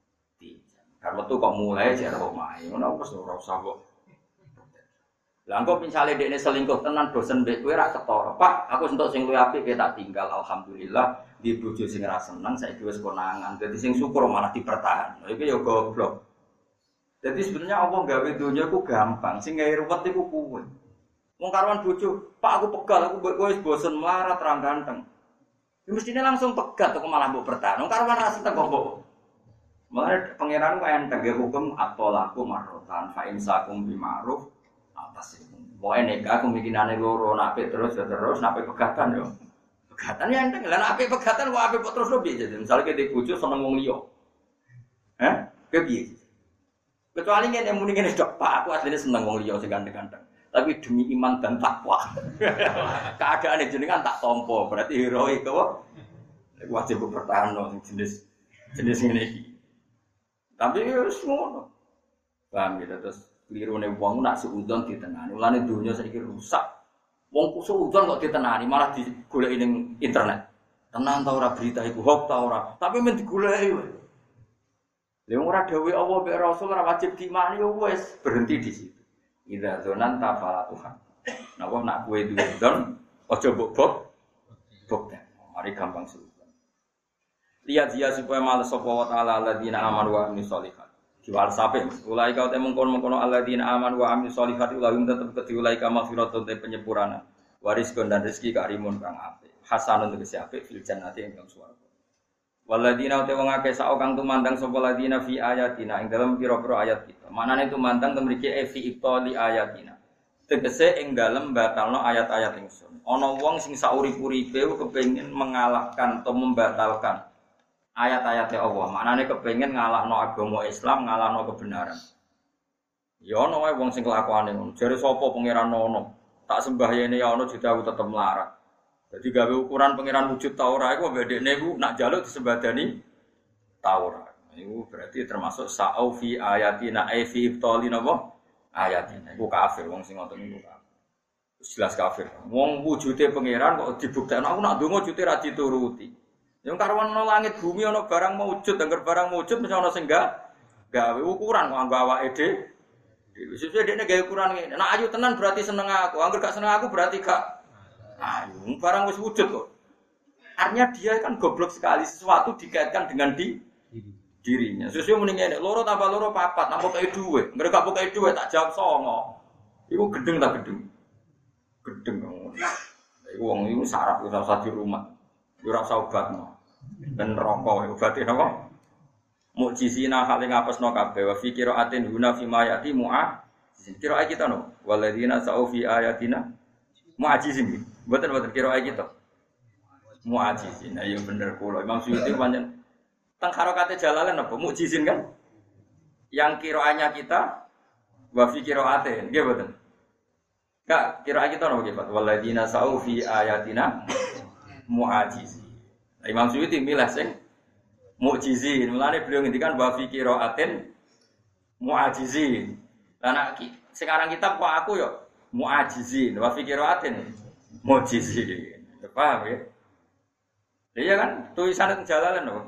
B: Kan metu kok mulai jare omahe. Ngono wis ora usah kok. Lah engko misale dekne selingkuh tenan bosen mbek kowe ra ketara. Pak, aku entuk sing luwih apik ke tak tinggal alhamdulillah. Di bojo sing ora seneng saiki wis konangan. Dadi sing syukur malah dipertahan. Iki ya goblok. Jadi sebenarnya Allah gawe dunya iku gampang, sing gawe ruwet iku kuwe. Wong karuan bojo, Pak aku pegal, aku kowe wis bosen melarat terang ganteng. Ya mestine langsung pegat kok malah mbok bertahan. Wong karuan ra seneng kok mbok. Mulane pangeran kok enteng ge hukum atolaku marrotan fa insakum bi ma'ruf atas itu. Pokoke nek aku mikinane loro nak apik terus ya terus nak apik pegatan yo. Pegatan ya enteng. Lah nak apik pegatan kok apik terus lho piye jadi. Misale ke bojo seneng wong liya. Heh? Ke piye? Kecuali ngene muni ngene dok, Pak aku asline seneng wong liya sing ganteng-ganteng. Tapi demi iman dan takwa. Keadaane jenengan tak tampa, berarti heroik apa? Wajib bertahan sing jenis jenis ngene iki. Tapi wis ngono. Paham gitu terus klirune wong nak suudzon ditenani. Mulane dunya saiki rusak. Wong suudzon kok ditenani malah digoleki ning internet. Tenan ta ora berita iku hoax ta ora. Tapi men digoleki wae. Lha wong ora dawuh Allah mek Rasul ora wajib diimani yo wis berhenti di situ. Idza dzonan ta falatuhan. Napa nak kowe duwe dzon aja mbok bok. Bok. Mari gampang suudzon. Lihat dia supaya malas sapa wa ta'ala alladzina amanu wa amilus sholihat. Diwal sape ulai kau temung kono-kono alladzina amanu wa amilus sholihat ulahum tetep kedulai ka maghfiratun te penyempurnaan. Warizqun dan rezeki karimun kang apik. Hasanun tegese apik fil jannati ing swarga. Walladzina te wong akeh sak kang tumandang sapa ladina fi ayatina ing dalem pira-pira ayat kita. Manane tumandang temriki fi ibtali ayatina. Tegese ing dalem batalno ayat-ayat ingsun. Ana wong sing saurip-uripe kepengin mengalahkan atau membatalkan ayat-ayatnya Allah. Maknane kepengin ngalahno agama Islam, ngalahno kebenaran. Ya ono wae wong sing kelakuane ngono. Jare sapa pangeran ono? Tak sembah yene ya ono jeda aku tetep melarat. Jadi gawe ukuran pangeran wujud ta ora iku bedekne iku nak njaluk disembadani ta ora. Iku berarti termasuk sa'au fi ayatina ai fi ibtali napa ayatina. Iku kafir wong sing ngoten niku kafir. Jelas kafir. Wong wujude pangeran kok dibuktekno aku nak ndonga wujude ra dituruti. Yang karuan ana langit bumi ana barang maujud, angger barang maujud mesti ana sing gak gawe ukuran kok anggo awake dhewe. Sesuai dekne gawe ukuran ngene. Nek ayu tenan berarti seneng aku, angger gak seneng aku berarti gak ayu. Barang wis wujud kok. Artinya dia kan goblok sekali sesuatu dikaitkan dengan di dirinya. Sesuai muni ngene, loro tambah loro papat, nampa kei dhuwit. Angger gak pokoke dhuwit tak jawab songo. Iku gedeng ta gedeng. Gedeng. Iku wong iku sarap wis usah di rumah. Yo ora usah obatno. Ben rokok obate napa? Mukjizina hale ngapesno kabeh wa fi qiraatin guna fi mayati mu'a. Qiraat kita no. Waladina sa'u fi ayatina mu'ajizin. Mboten mboten qiraat kita. Mu'ajizin. Ayo bener kula. Imam Suyuti pancen teng harokate Jalalain apa mukjizin kan? Yang qiraatnya kita wa fi qiraatin. Nggih mboten. Kak, qiraat kita no nggih Pak. Waladina sa'u fi ayatina mu'ajizin. Imam Suyuti milih sing mukjizin. Mulane beliau ngendikan wa fi qiraatin mu'ajizin. Lah nek sekarang kitab kok aku yo mu'ajizin wa fi qiraatin mu'jizin. Paham ya? Iya kan tulisan Jalalain lho.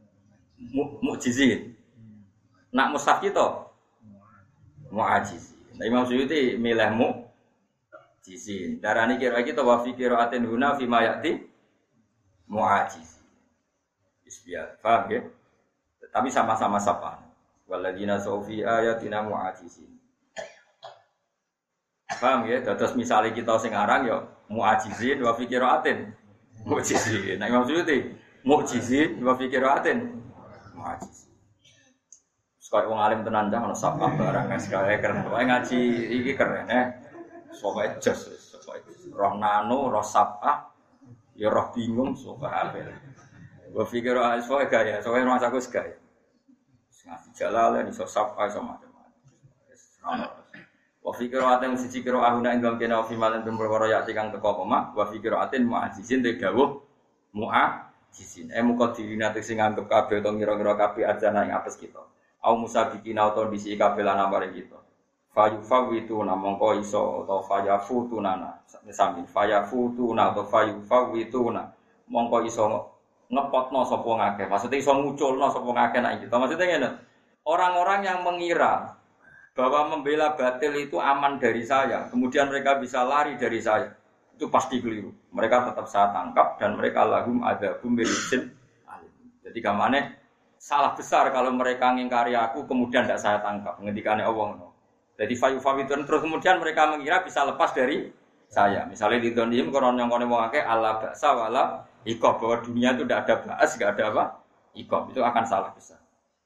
B: Mu'jizin. Nak mushaf kita mu'ajizin. Nah, Imam Suyuti milih mu'jizin. Darani kira kita wa fi qiraatin huna fi ma ya'ti mu'ajizin. Isbiat, paham ya? Tapi sama-sama sapa. Waladina sofi ayatina mu'ajizin. Paham ya? Terus misalnya kita sing aran ya mu'ajizin wa fi qiraatin mu'jizin. Nah, Imam Suyuti mu'jizin wa fi qiraatin mu'ajizin. Sekali wong alim tenan dah ono sapa barang sekali keren. Pokoke ngaji iki keren eh. Pokoke jos, pokoke roh nano, roh sapa, ya roh bingung sok kabeh. Wa fikir aswa gaya, soalnya rumah aku segaya. Ngasih Jalalain iso sapa iso macam-macam. Wa fikir aten siji kira ahuna ing dalem kena fi malan perkara ya kang teko apa wa fikir aten mu'ajizin te dawuh mu'ajizin. Eh muka dirina sing nganggep kabeh utawa ngira-ngira kabeh ajana ing apes kita. Au musabiqina utawa disi kabeh lan amare kita. Fayufawitu namangka iso utawa fayafutuna. Sami fayafutuna utawa fayufawituna. Mongko iso ngepotno sapa ngakeh. Maksudnya iso nguculno sapa ngakeh nek kita. Maksudnya ngene. Orang-orang yang mengira bahwa membela batil itu aman dari saya, kemudian mereka bisa lari dari saya. Itu pasti keliru. Mereka tetap saya tangkap dan mereka lahum adzabum birizin alim. Jadi gamane salah besar kalau mereka ngingkari aku kemudian tidak saya tangkap. Ngendikane Allah ngono. Jadi fayufawitun terus kemudian mereka mengira bisa lepas dari saya. Misalnya di dunia koron yang kono wong akeh Allah baksa wala ikob, bahwa dunia itu tidak ada baas, tidak ada apa? Ikob, itu akan salah besar.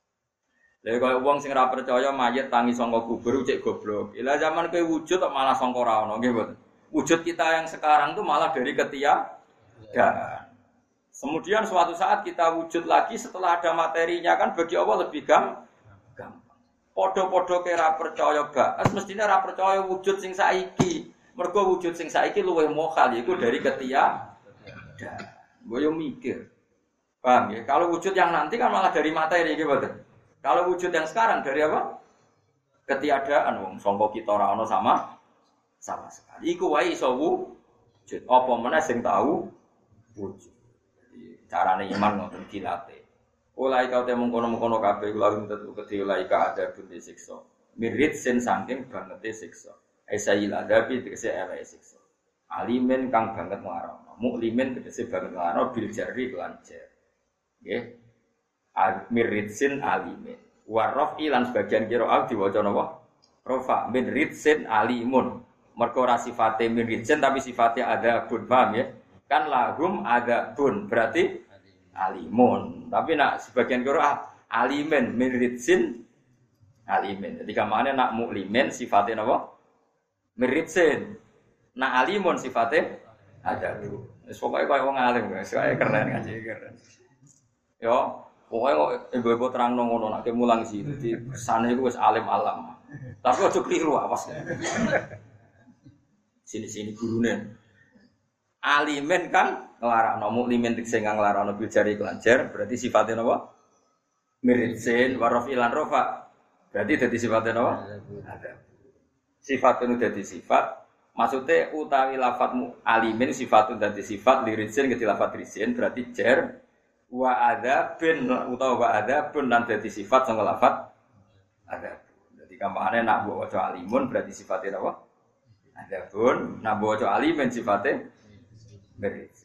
B: Lha kaya wong sing ora percaya mayit tangi saka kubur cek goblok. Ila zaman kowe wujud kok malah sangka ora ono, nggih mboten. Wujud kita yang sekarang itu malah dari ketiadaan. Kemudian suatu saat kita wujud lagi setelah ada materinya kan bagi Allah lebih gampang. Podo-podo ke ora percaya baas, mestine ora percaya wujud sing saiki. Mergo wujud sing saiki luwih mokal iku dari ketiadaan. Gue mikir, paham ya? Kalau wujud yang nanti kan malah dari materi, gitu. Kalau wujud yang sekarang dari apa? Ketiadaan, wong sangka kita ora ana sama, sama sekali. Iku wae iso wujud. Apa meneh sing tahu wujud. Jadi carane iman ngoten dilatih. Ulai kau temu kono-kono kabeh kula minta kedhi ulai ka ada bunyi siksa. Mirit sen saking bangete siksa. Aisayil adabi tegese eleke siksa. Alimen kang banget ngarang. Muklimin tegese banget ngarang bil jari lan jar. Nggih. Miritsin alimin. Waraf ilan sebagian qiraat diwaca napa? Rafa min ritsin alimun. Mergo ora sifate min ritsin tapi sifate adzabun, paham ya? Kan lahum adzabun berarti alimun. Tapi nak sebagian qiraat alimin min ritsin alimin. Jadi kamane nak muklimin sifate napa? Min ritsin. Nak alimun sifate adzabun. Wis pokoke koyo wong alim guys, kaya keren ngaji keren. Yo Pokoknya kok ibu-ibu terang ngono nak mulang sih. Jadi sana itu wis alim alam. Tapi aja keliru awas. Sini-sini gurune. Alimen kan nglarakno muklimin sing nglarakno bil jari kelanjar berarti sifatnya napa? Mirizin warafilan rofa. Berarti dadi sifatnya napa? Ada. Sifatun dadi sifat. Maksudnya utawi lafadzmu alimin sifatun dadi sifat lirizin ke lafadz rizin berarti jar wa adzabun utawa wa adzabun lan dadi sifat sing lafadz ada. Jadi kampane nak mbok waca alimun berarti sifatnya napa? Adzabun, nak mbok waca alimin sifatnya mirizin.